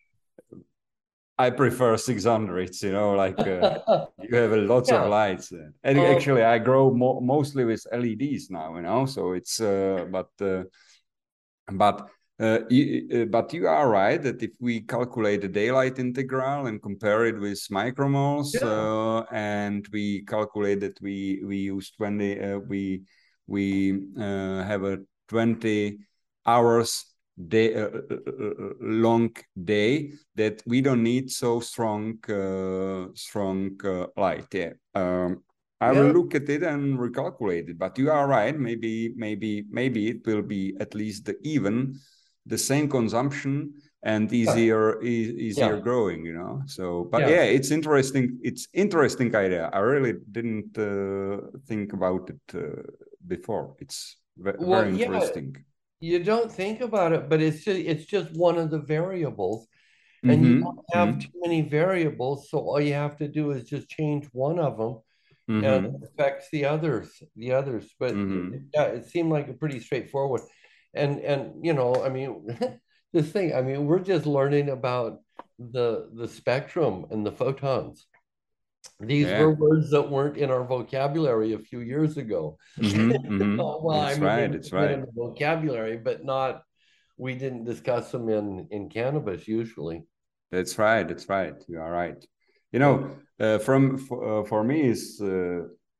I prefer six hundreds. You know, like uh, you have lots Yeah. of lights. And Um, actually, I grow mo mostly with L E Ds now. You know, so it's uh, but uh, but. Uh, you, uh, but you are right that if we calculate the daylight integral and compare it with micromoles, yeah. uh, and we calculate that we we use twenty, uh, we we uh, have a twenty hours day uh, long day, that we don't need so strong uh, strong uh, light. Yeah. Um, I will Yeah. look at it and recalculate it. But you are right. Maybe maybe maybe it will be at least the even the same consumption and easier e easier Yeah. growing, you know. So but Yeah. yeah, it's interesting, it's interesting idea. I really didn't uh, think about it uh, before. It's ve Well, very yeah, interesting. you don't think about it, but it's just, it's just one of the variables, and you Mm-hmm. don't have too many variables, so all you have to do is just change one of them, and it Mm-hmm. affects the others, the others. But Mm-hmm. yeah, it seemed like a pretty straightforward. And and you know, I mean, this thing, I mean, we're just learning about the the spectrum and the photons. These Yeah. were words that weren't in our vocabulary a few years ago. Mm-hmm. Mm-hmm. Oh, well, I It's mean, they right. were It's in right. the vocabulary, but not, we didn't discuss them in in cannabis usually. That's right. That's right. You are right. You Yeah. know, uh, from for, uh, for me is uh,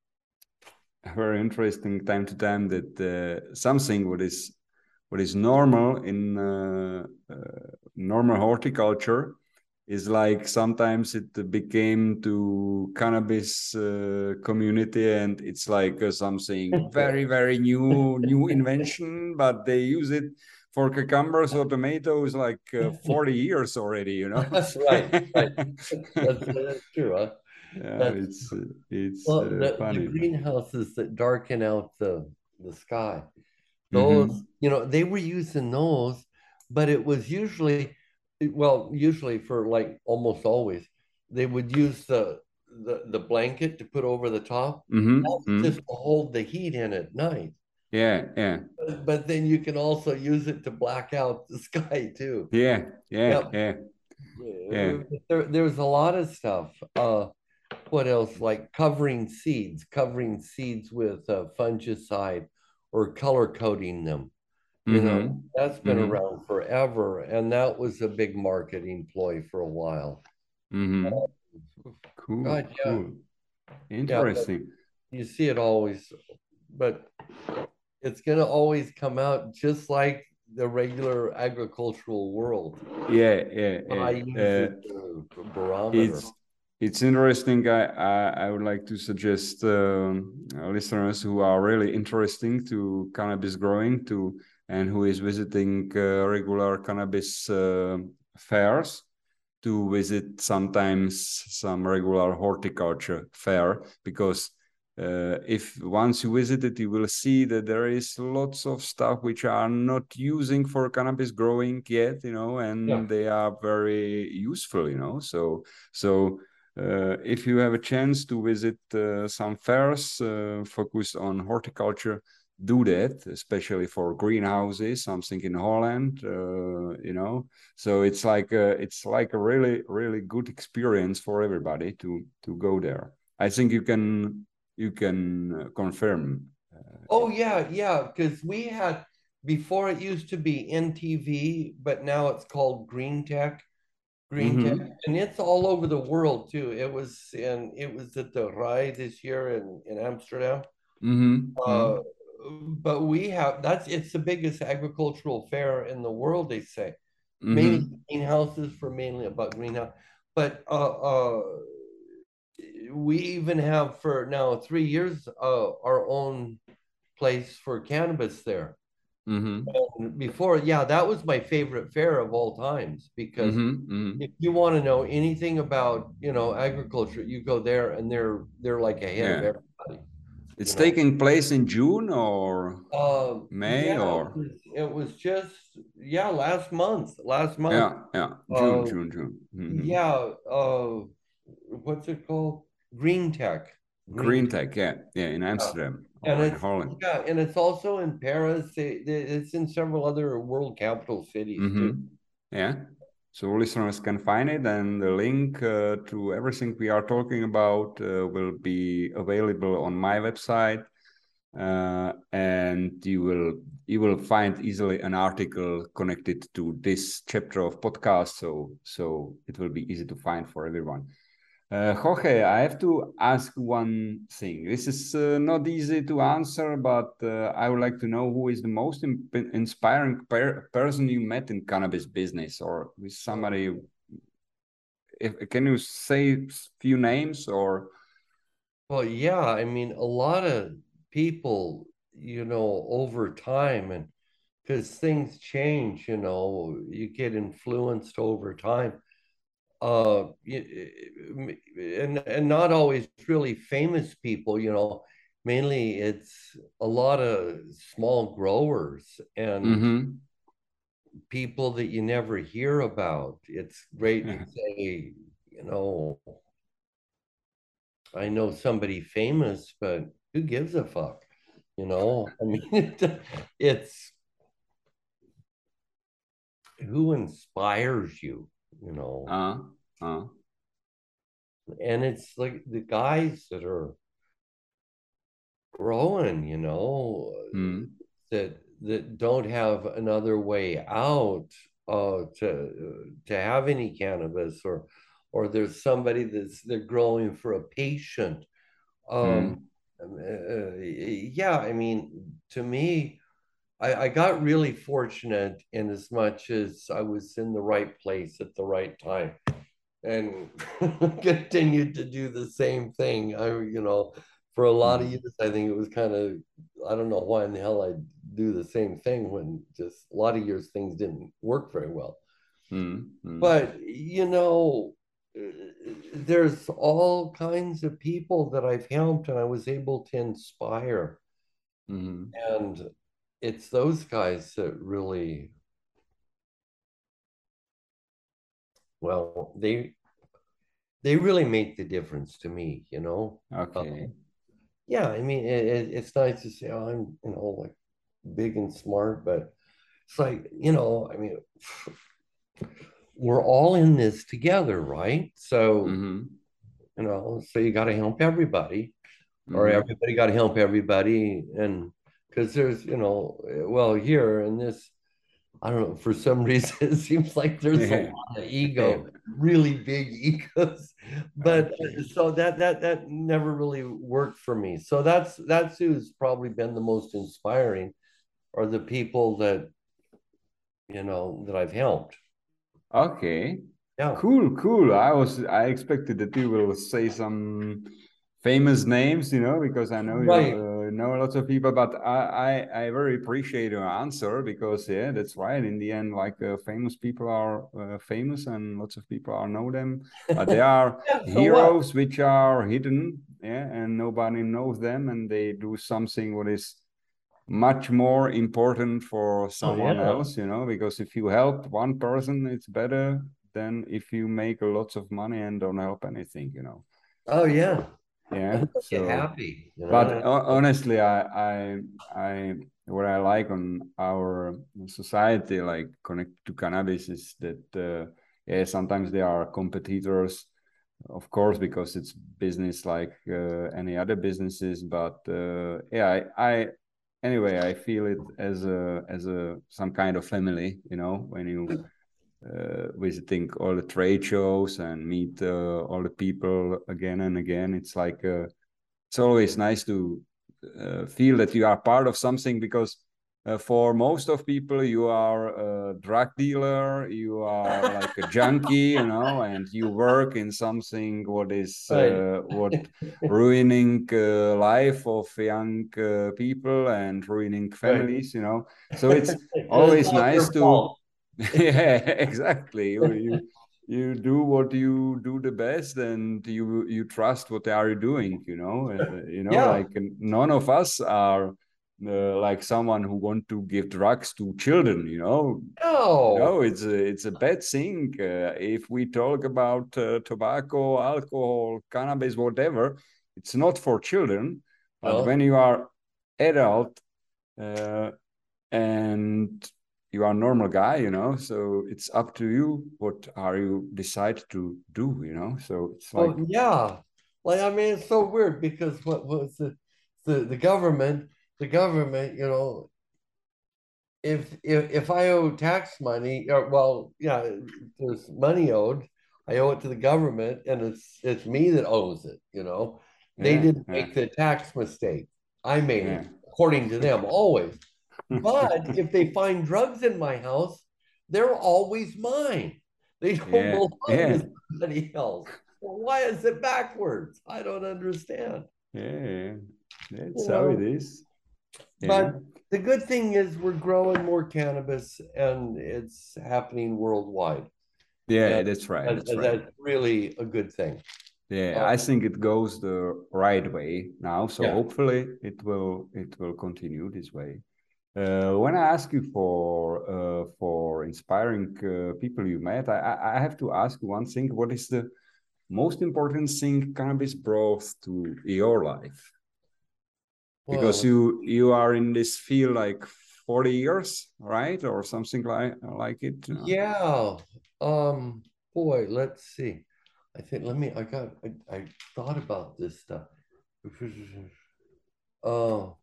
very interesting time to time that uh, something what is what is normal in uh, uh, normal horticulture is like sometimes it became to cannabis uh, community, and it's like uh, something very very new new invention, but they use it for cucumbers or tomatoes like uh, forty years already, you know. Right, right. That's that's true, huh? Yeah, That's it's it's well, uh, the the funny. greenhouses that darken out the the sky. Those, Mm-hmm. you know, they were using those, but it was usually, well, usually for like almost always, they would use the the the blanket to put over the top. Mm-hmm. That's just Mm-hmm. to hold the heat in at night. Yeah, yeah, But, but then you can also use it to black out the sky too. yeah, yeah, Yep. yeah, yeah. There, there's a lot of stuff. Uh, what else? Like covering seeds, covering seeds with uh, fungicide or color coding them. You know, Mm-hmm. that's been Mm-hmm. around forever, and that was a big marketing ploy for a while. Mm-hmm. Cool, God, yeah, cool. yeah, but Interesting. you see it always, but it's gonna always come out just like the regular agricultural world. Yeah, yeah, I yeah. use Uh, it as a barometer. it's it's interesting. I, I I would like to suggest um, uh, listeners who are really interesting to cannabis growing to and who is visiting uh, regular cannabis uh, fairs to visit sometimes some regular horticulture fair, because uh, if once you visit it, you will see that there is lots of stuff which are not using for cannabis growing yet, you know, Yeah. and they are very useful, you know. So so uh, if you have a chance to visit uh, some fairs uh, focused on horticulture, do that, especially for greenhouses, something in Holland, uh, you know. So it's like a, it's like a really really good experience for everybody to to go there. I think you can you can uh, confirm uh, Oh it. yeah, yeah. Because we had, before it used to be N T V, but now it's called Green Tech. Green Tech, Mm-hmm. and it's all over the world too. It was in it was at the Rai this year in in Amsterdam. Uh, Mm-hmm. but we have, that's, it's the biggest agricultural fair in the world, they say. Mainly Mm-hmm. greenhouses, for mainly about greenhouse. But uh, uh, we even have for now three years uh, our own place for cannabis there. Mm-hmm. And before, yeah, that was my favorite fair of all times, because Mm-hmm. Mm-hmm. if you want to know anything about, you know, agriculture, you go there and they're they're like ahead of Yeah, everybody, you it's know. taking place in June or Uh, May yeah, it or was, it was just, yeah, last month, last month. yeah, yeah, June, Uh, June, June. Mm-hmm. yeah, uh, what's it called? Green Tech. Green Tech, yeah, yeah, in Amsterdam and or in it's Holland. yeah, and it's also in Paris. It, it's in several other world capital cities too. Mm-hmm. Yeah. So listeners can find it, and the link uh, to everything we are talking about uh, will be available on my website, uh, and you will you will find easily an article connected to this chapter of podcast. So so it will be easy to find for everyone. Uh, Jorge, I have to ask one thing. This is uh, not easy to answer, but uh, I would like to know who is the most in inspiring per person you met in cannabis business, or with somebody. If, can you say a few names or? Well, yeah, I mean, a lot of people, you know, over time, and because things change, you know, you get influenced over time. Uh, and and not always really famous people, you know. Mainly, it's a lot of small growers and Mm-hmm. people that you never hear about. It's great to Yeah. say, you know, I know somebody famous, but who gives a fuck? You know, I mean, it, it's who inspires you, you know, Uh, uh, and it's like the guys that are growing, you know, mm, that that don't have another way out uh, to to have any cannabis, or or there's somebody that's they're growing for a patient. Um, mm, uh, yeah, I mean, to me, I, I got really fortunate in as much as I was in the right place at the right time and continued to do the same thing. I, you know, for a lot of mm, years, I think it was kind of, I don't know why in the hell I do the same thing when just a lot of years things didn't work very well. mm, mm, But, you know, there's all kinds of people that I've helped and I was able to inspire. mm. And it's those guys that really, well, they they really make the difference to me, you know. Uh, Okay. yeah, I mean, it, it, it's nice to say, oh, I'm, you know, like big and smart, but it's like, you know, I mean, we're all in this together, right? So, Mm-hmm. you know, so you got to help everybody, or Mm-hmm. everybody got to help everybody. And because there's, you know, well, here in this, I don't know, for some reason, it seems like there's a Yeah. lot of Yeah. ego, really big egos. But Okay. uh, so that that that never really worked for me. So that's that's who's probably been the most inspiring, are the people that, you know, that I've helped. Okay. Yeah. Cool, cool. I was I expected that you will say some famous names, you know, because I know you Right. uh, know lots of people, but I, I I very appreciate your answer because yeah, that's right. In the end, like uh, famous people are uh, famous and lots of people are know them, but there are Yeah, so what? heroes which are hidden, yeah, and nobody knows them, and they do something what is much more important for Oh someone yeah. else, you know, because if you help one person, it's better than if you make lots of money and don't help anything, you know. Oh yeah. Yeah. And get So, happy, you but know. honestly, I, I, I, what I like on our society, like connected to cannabis, is that, uh, yeah, sometimes there are competitors, of course, because it's business like uh, any other businesses. But uh, yeah, I, I, anyway, I feel it as a as a some kind of family, you know, when you uh, visiting all the trade shows and meet uh, all the people again and again. It's like uh, it's always nice to uh, feel that you are part of something because uh, for most of people you are a drug dealer, you are like a junkie, you know, and you work in something what is Right. uh, what ruining uh, life of young uh, people and ruining Right. families, you know. So it's And it's always all nice your to fault. yeah, exactly. You, you you do what you do the best, and you you trust what they are doing. You know, uh, you know, Yeah. like none of us are uh, like someone who want to give drugs to children. You know, you know, No. it's a it's a bad thing. Uh, if we talk about uh, tobacco, alcohol, cannabis, whatever, it's not for children, but No. when you are adult uh, and you are a normal guy, you know, so it's up to you. What are you decide to do, you know? So it's like, Well, yeah. Like, I mean, it's so weird because what was the the the government, the government, you know, if if if I owe tax money, or well, yeah, there's money owed. I owe it to the government, and it's it's me that owes it. You know, they yeah, didn't yeah, make the tax mistake. I made yeah. it, according to them, always. But if they find drugs in my house, they're always mine. They don't Yeah, belong yeah, to somebody else. Well, why is it backwards? I don't understand. yeah. That's You how it know, is. Yeah, but the good thing is we're growing more cannabis and it's happening worldwide. yeah. And That's right. that- That's right. that's really a good thing. Yeah, Uh, I think it goes the right way now. So yeah. hopefully it will it will continue this way. Uh, when I ask you for uh, for inspiring uh, people you met, I, I I have to ask you one thing. What is the most important thing cannabis brought to your life? Because Well, you you are in this field like forty years, right? Or something like like it, you know? yeah. Um, boy, let's see. I think let me I got I, I thought about this stuff. Oh,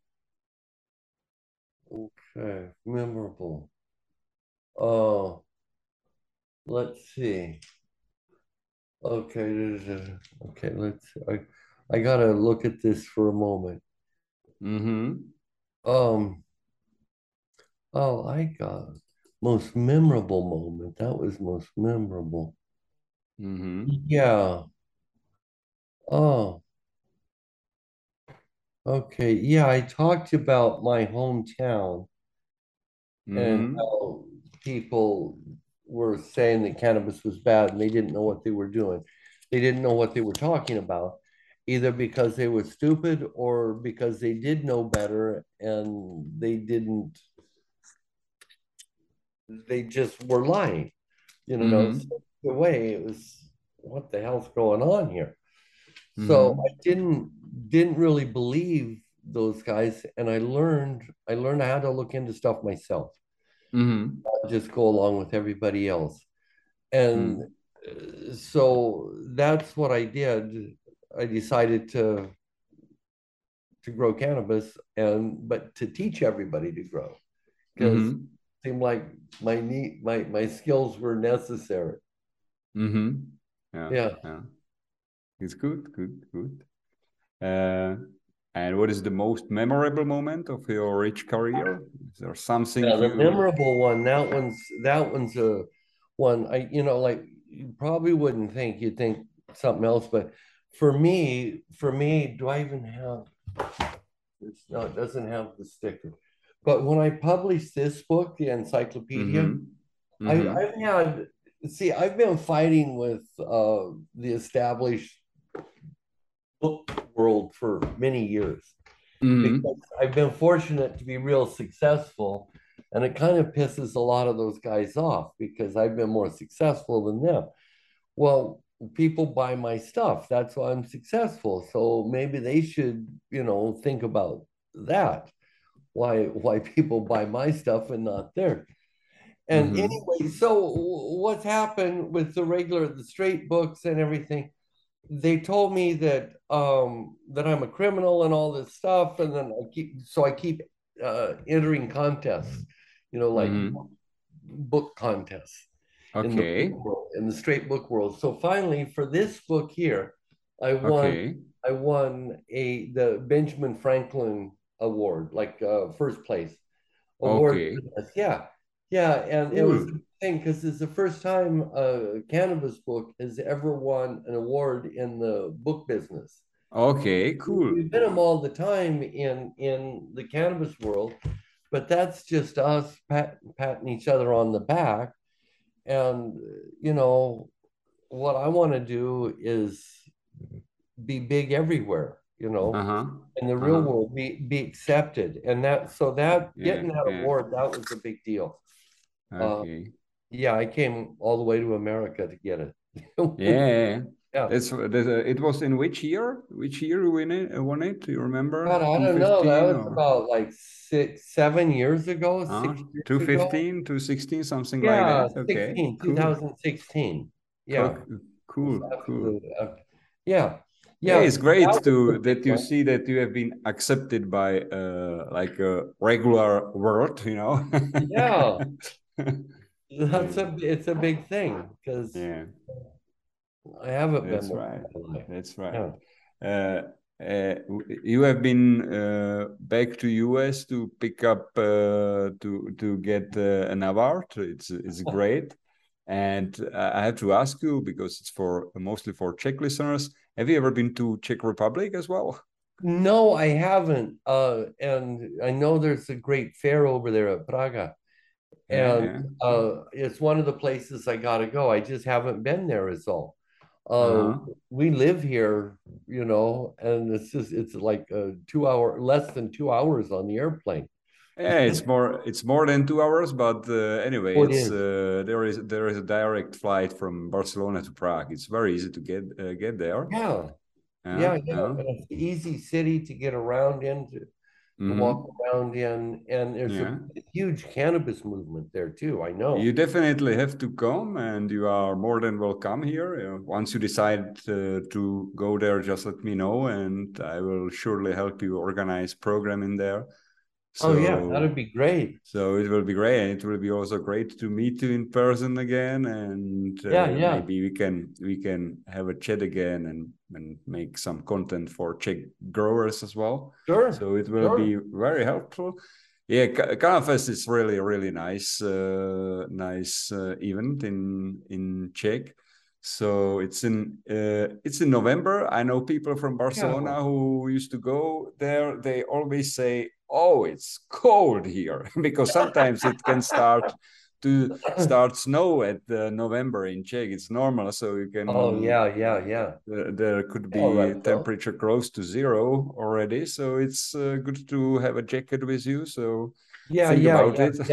okay. Memorable. Oh, let's see. Okay, okay, let's I I gotta look at this for a moment. Mm-hmm. Um, oh, I got most memorable moment. That was most memorable. Mm-hmm. Yeah. Oh, okay. Yeah, I talked about my hometown and Mm-hmm. how people were saying that cannabis was bad and they didn't know what they were doing. They didn't know what they were talking about, either because they were stupid or because they did know better and they didn't, they just were lying. You know, so Mm-hmm. the way it was, what the hell's going on here? So I Mm-hmm. didn't didn't really believe those guys, and I learned I learned how to look into stuff myself, Mm-hmm. not just go along with everybody else. And uh, so that's what I did. I decided to to grow cannabis and but to teach everybody to grow because it Mm-hmm. seemed like my need my my skills were necessary. Mm-hmm. Yeah, Yeah. yeah. It's good, good, good. Uh, and what is the most memorable moment of your rich career? Is there something Yeah, the you? memorable one, that one's that one's a one I you know like you probably wouldn't think you'd think something else, but for me, for me, do I even have it's no, it doesn't have the sticker. But when I published this book, the encyclopedia, Mm-hmm. I, Mm-hmm. I've had see, I've been fighting with uh, the established book world for many years because Mm-hmm. I've been fortunate to be real successful. And it kind of pisses a lot of those guys off because I've been more successful than them. Well, people buy my stuff. That's why I'm successful. So maybe they should, you know, think about that. Why why people buy my stuff and not theirs. And Mm-hmm. anyway, so what's happened with the regular, the straight books and everything? They told me that um that I'm a criminal and all this stuff, and then I keep so I keep uh entering contests, you know, like Mm-hmm. book contests in the book Okay. world, in the straight book world. So finally, for this book here, I won Okay. I won a the Benjamin Franklin Award, like uh, first place award Okay. for this. Yeah, yeah, and it was Cool. the thing because it's the first time a cannabis book has ever won an award in the book business. Okay. Cool. We win them all the time in in the cannabis world, but that's just us pat, patting each other on the back. And you know what I want to do is be big everywhere. You know, Uh-huh. in the real Uh-huh. world, be be accepted, and that so that Yeah. getting that Yeah. award, that was a big deal. Uh, Okay. yeah, I came all the way to America to get it. Yeah. Yeah. It's it was in which year? Which year you win it? Won it? Do you remember? God, I don't know. That was or? about like six, seven years ago, uh, six years two fifteen, ago. two sixteen, something yeah, like that. Okay, sixteen, cool. twenty sixteen. Yeah, cool, cool. Uh, yeah, yeah. It's great that to that you one. see that you have been accepted by uh, like a regular world, you know. yeah, that's a it's a big thing because yeah, I haven't that's been. Right. That's right. Yeah. Uh, uh, you have been uh, back to U S to pick up uh, to to get uh, an award. It's it's great, and I have to ask you because it's for mostly for Czech listeners. Have you ever been to Czech Republic as well? No, I haven't. Uh, and I know there's a great fair over there at Praga, and yeah, yeah. Uh, it's one of the places I gotta go. I just haven't been there, is all. Uh, uh-huh. We live here, you know, and it's just it's like a two hour, less than two hours on the airplane. Yeah, it's more it's more than two hours, but uh, anyway, oh, it's it uh, there is there is a direct flight from Barcelona to Prague. It's very easy to get uh, get there. Yeah, yeah, yeah. yeah. And it's an easy city to get around into. To mm-hmm. walk around in, and there's yeah. a, a huge cannabis movement there too. I know. You definitely have to come, and you are more than welcome here. You know, once you decide uh, to go there, just let me know, and I will surely help you organize program in there. So, oh yeah, that'd be great. So it will be great, and it will be also great to meet you in person again, and uh, yeah, yeah. maybe we can we can have a chat again and and make some content for Czech growers as well. Sure. So it will sure. be very helpful. Yeah, Cannafest is really really nice, uh, nice uh, event in in Czech. So it's in uh, it's in November. I know people from Barcelona yeah. who used to go there. They always say, "Oh, it's cold here," because sometimes it can start to start snow at uh, November in Czech. It's normal, so you can. Oh yeah, yeah, yeah. Uh, there could be right, temperature so. close to zero already, so it's uh, good to have a jacket with you. So. Yeah, think yeah, about yeah, it.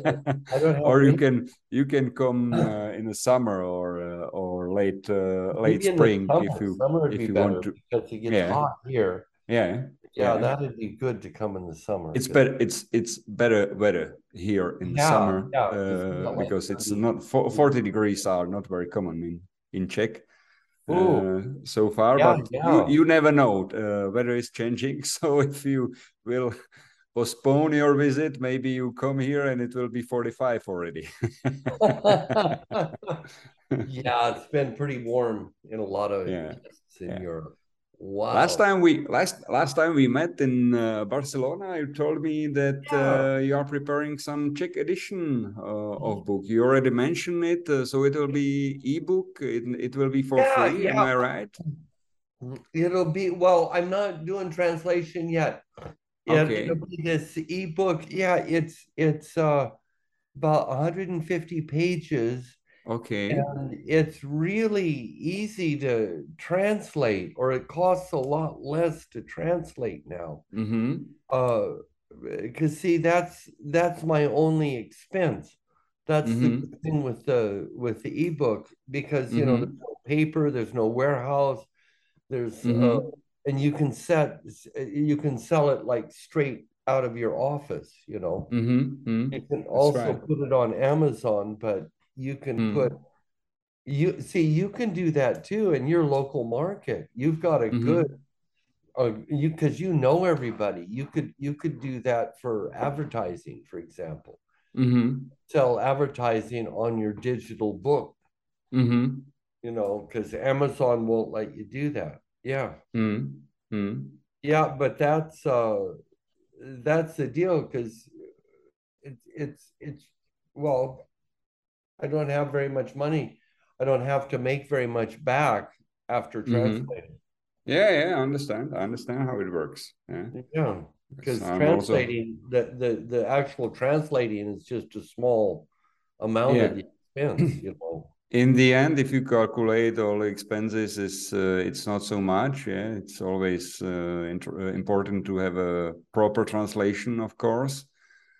I don't have or you can you can come uh, in the summer or uh, or late uh, late Maybe spring summer. if you summer would if be you better want to. Because it gets yeah. hot here. Yeah, yeah, yeah, that'd be good to come in the summer. It's better. It's it's better weather here in the yeah, summer yeah, uh, it's because it's not forty degrees are not very common in in Czech. Uh, so far, yeah, but yeah. you you never know. Uh, weather is changing, so if you will postpone your visit, maybe you come here and it will be forty-five already. yeah, it's been pretty warm in a lot of yeah. places in yeah. Europe. Wow. Last time we last last time we met in uh, Barcelona, you told me that yeah. uh, you are preparing some Czech edition uh, of book. You already mentioned it, uh, so it will be ebook. It it will be for yeah, free. Yeah. Am I right? It'll be well. I'm not doing translation yet. Okay. It'll be this ebook. Yeah, it's it's uh, about one hundred fifty pages. Okay. And it's really easy to translate, or it costs a lot less to translate now. Mm-hmm. Uh, because see, that's that's my only expense. That's mm-hmm. the good thing with the with the ebook, because you mm-hmm. know there's no paper, there's no warehouse, there's mm-hmm. uh, and you can set you can sell it like straight out of your office. You know, mm-hmm. you can That's also right. put it on Amazon, but you can mm. put you see you can do that too in your local market. You've got a mm-hmm. good uh, you because you know everybody. You could you could do that for advertising, for example. Mm-hmm. Sell advertising on your digital book. Mm-hmm. You know, because Amazon won't let you do that. Yeah. Mm-hmm. Yeah, but that's uh that's the deal, because it's it's it's well, I don't have very much money. I don't have to make very much back after translating. Mm-hmm. Yeah, yeah, I understand. I understand how it works. Yeah, yeah, because translating also... the, the the actual translating is just a small amount yeah. of the expense, you know. In the end, if you calculate all the expenses, it's uh, it's not so much. Yeah, it's always uh, important to have a proper translation, of course.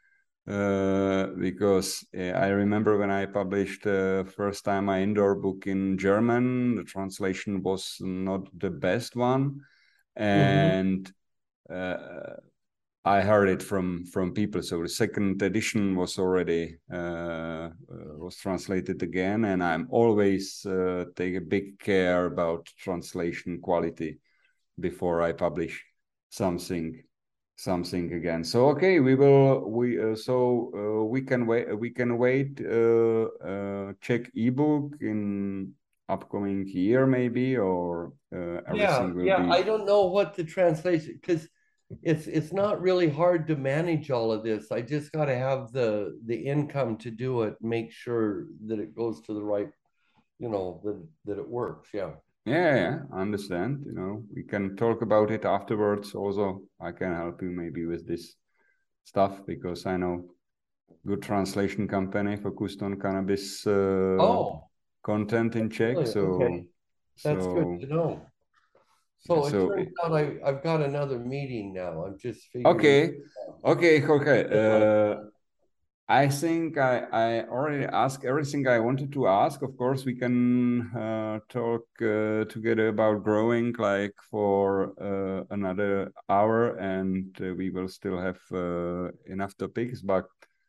uh, because uh, I remember when I published the uh, first time my indoor book in German, the translation was not the best one, and mm-hmm. uh, I heard it from from people. So the second edition was already uh, uh, was translated again, and I'm always uh, take a big care about translation quality before I publish something something again. So okay, we will we uh, so uh, we can wait we can wait uh, uh, Czech ebook in upcoming year maybe, or uh, everything yeah will yeah be. I don't know what the translation, because it's it's not really hard to manage all of this. I just got to have the the income to do it, make sure that it goes to the right, you know, that that it works. Yeah. Yeah, yeah, I understand. You know, we can talk about it afterwards. Also, I can help you maybe with this stuff because I know good translation company focused on cannabis uh, Oh, content in Czech. really? So, Okay, that's good so, to know. So it so. turns out I, I've got another meeting now. I'm just figuring. Okay, okay, okay. Uh, I think I, I already asked everything I wanted to ask. Of course, we can uh, talk uh, together about growing like for uh, another hour, and uh, we will still have uh, enough topics. But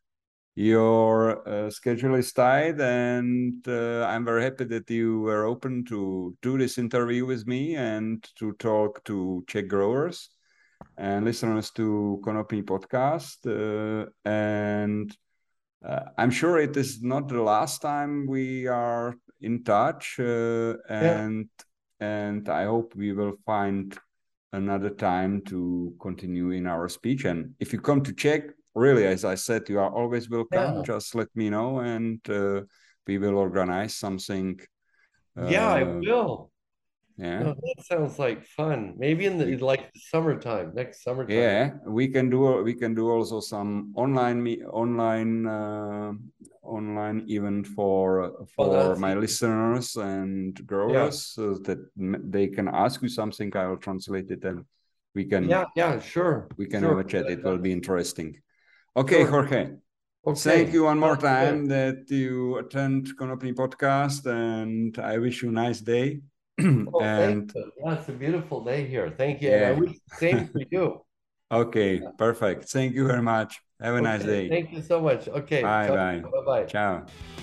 your uh, schedule is tight, and uh, I'm very happy that you were open to do this interview with me and to talk to Czech growers and listeners to Konopí podcast. Uh, and uh, I'm sure it is not the last time we are in touch, uh, Yeah. and and I hope we will find another time to continue in our speech. And if you come to Czech, really, as I said, you are always welcome. Yeah. Just let me know, and uh, we will organize something. Yeah, I Uh, will. yeah. No, that sounds like fun. Maybe in the We, like the summertime, next summertime. Yeah, we can do we can do also some online me online uh, online event for Oh, for that's my easy. listeners and Yeah. growers so that they can ask you something. I will translate it and we can Yeah, yeah, sure. we can have Sure. a chat. It will be interesting. Okay, Sure. Jorge. Thank Okay. you one more Sounds time good. that you attend Konopí podcast, and I wish you a nice day. Oh, thank And you. Yeah, it's a beautiful day here. Thank you. And I yeah. wish the same for you. Okay, perfect. Thank you very much. Have a nice Okay. day. Thank you so much. Okay. Bye Ciao. bye. Bye-bye. Ciao.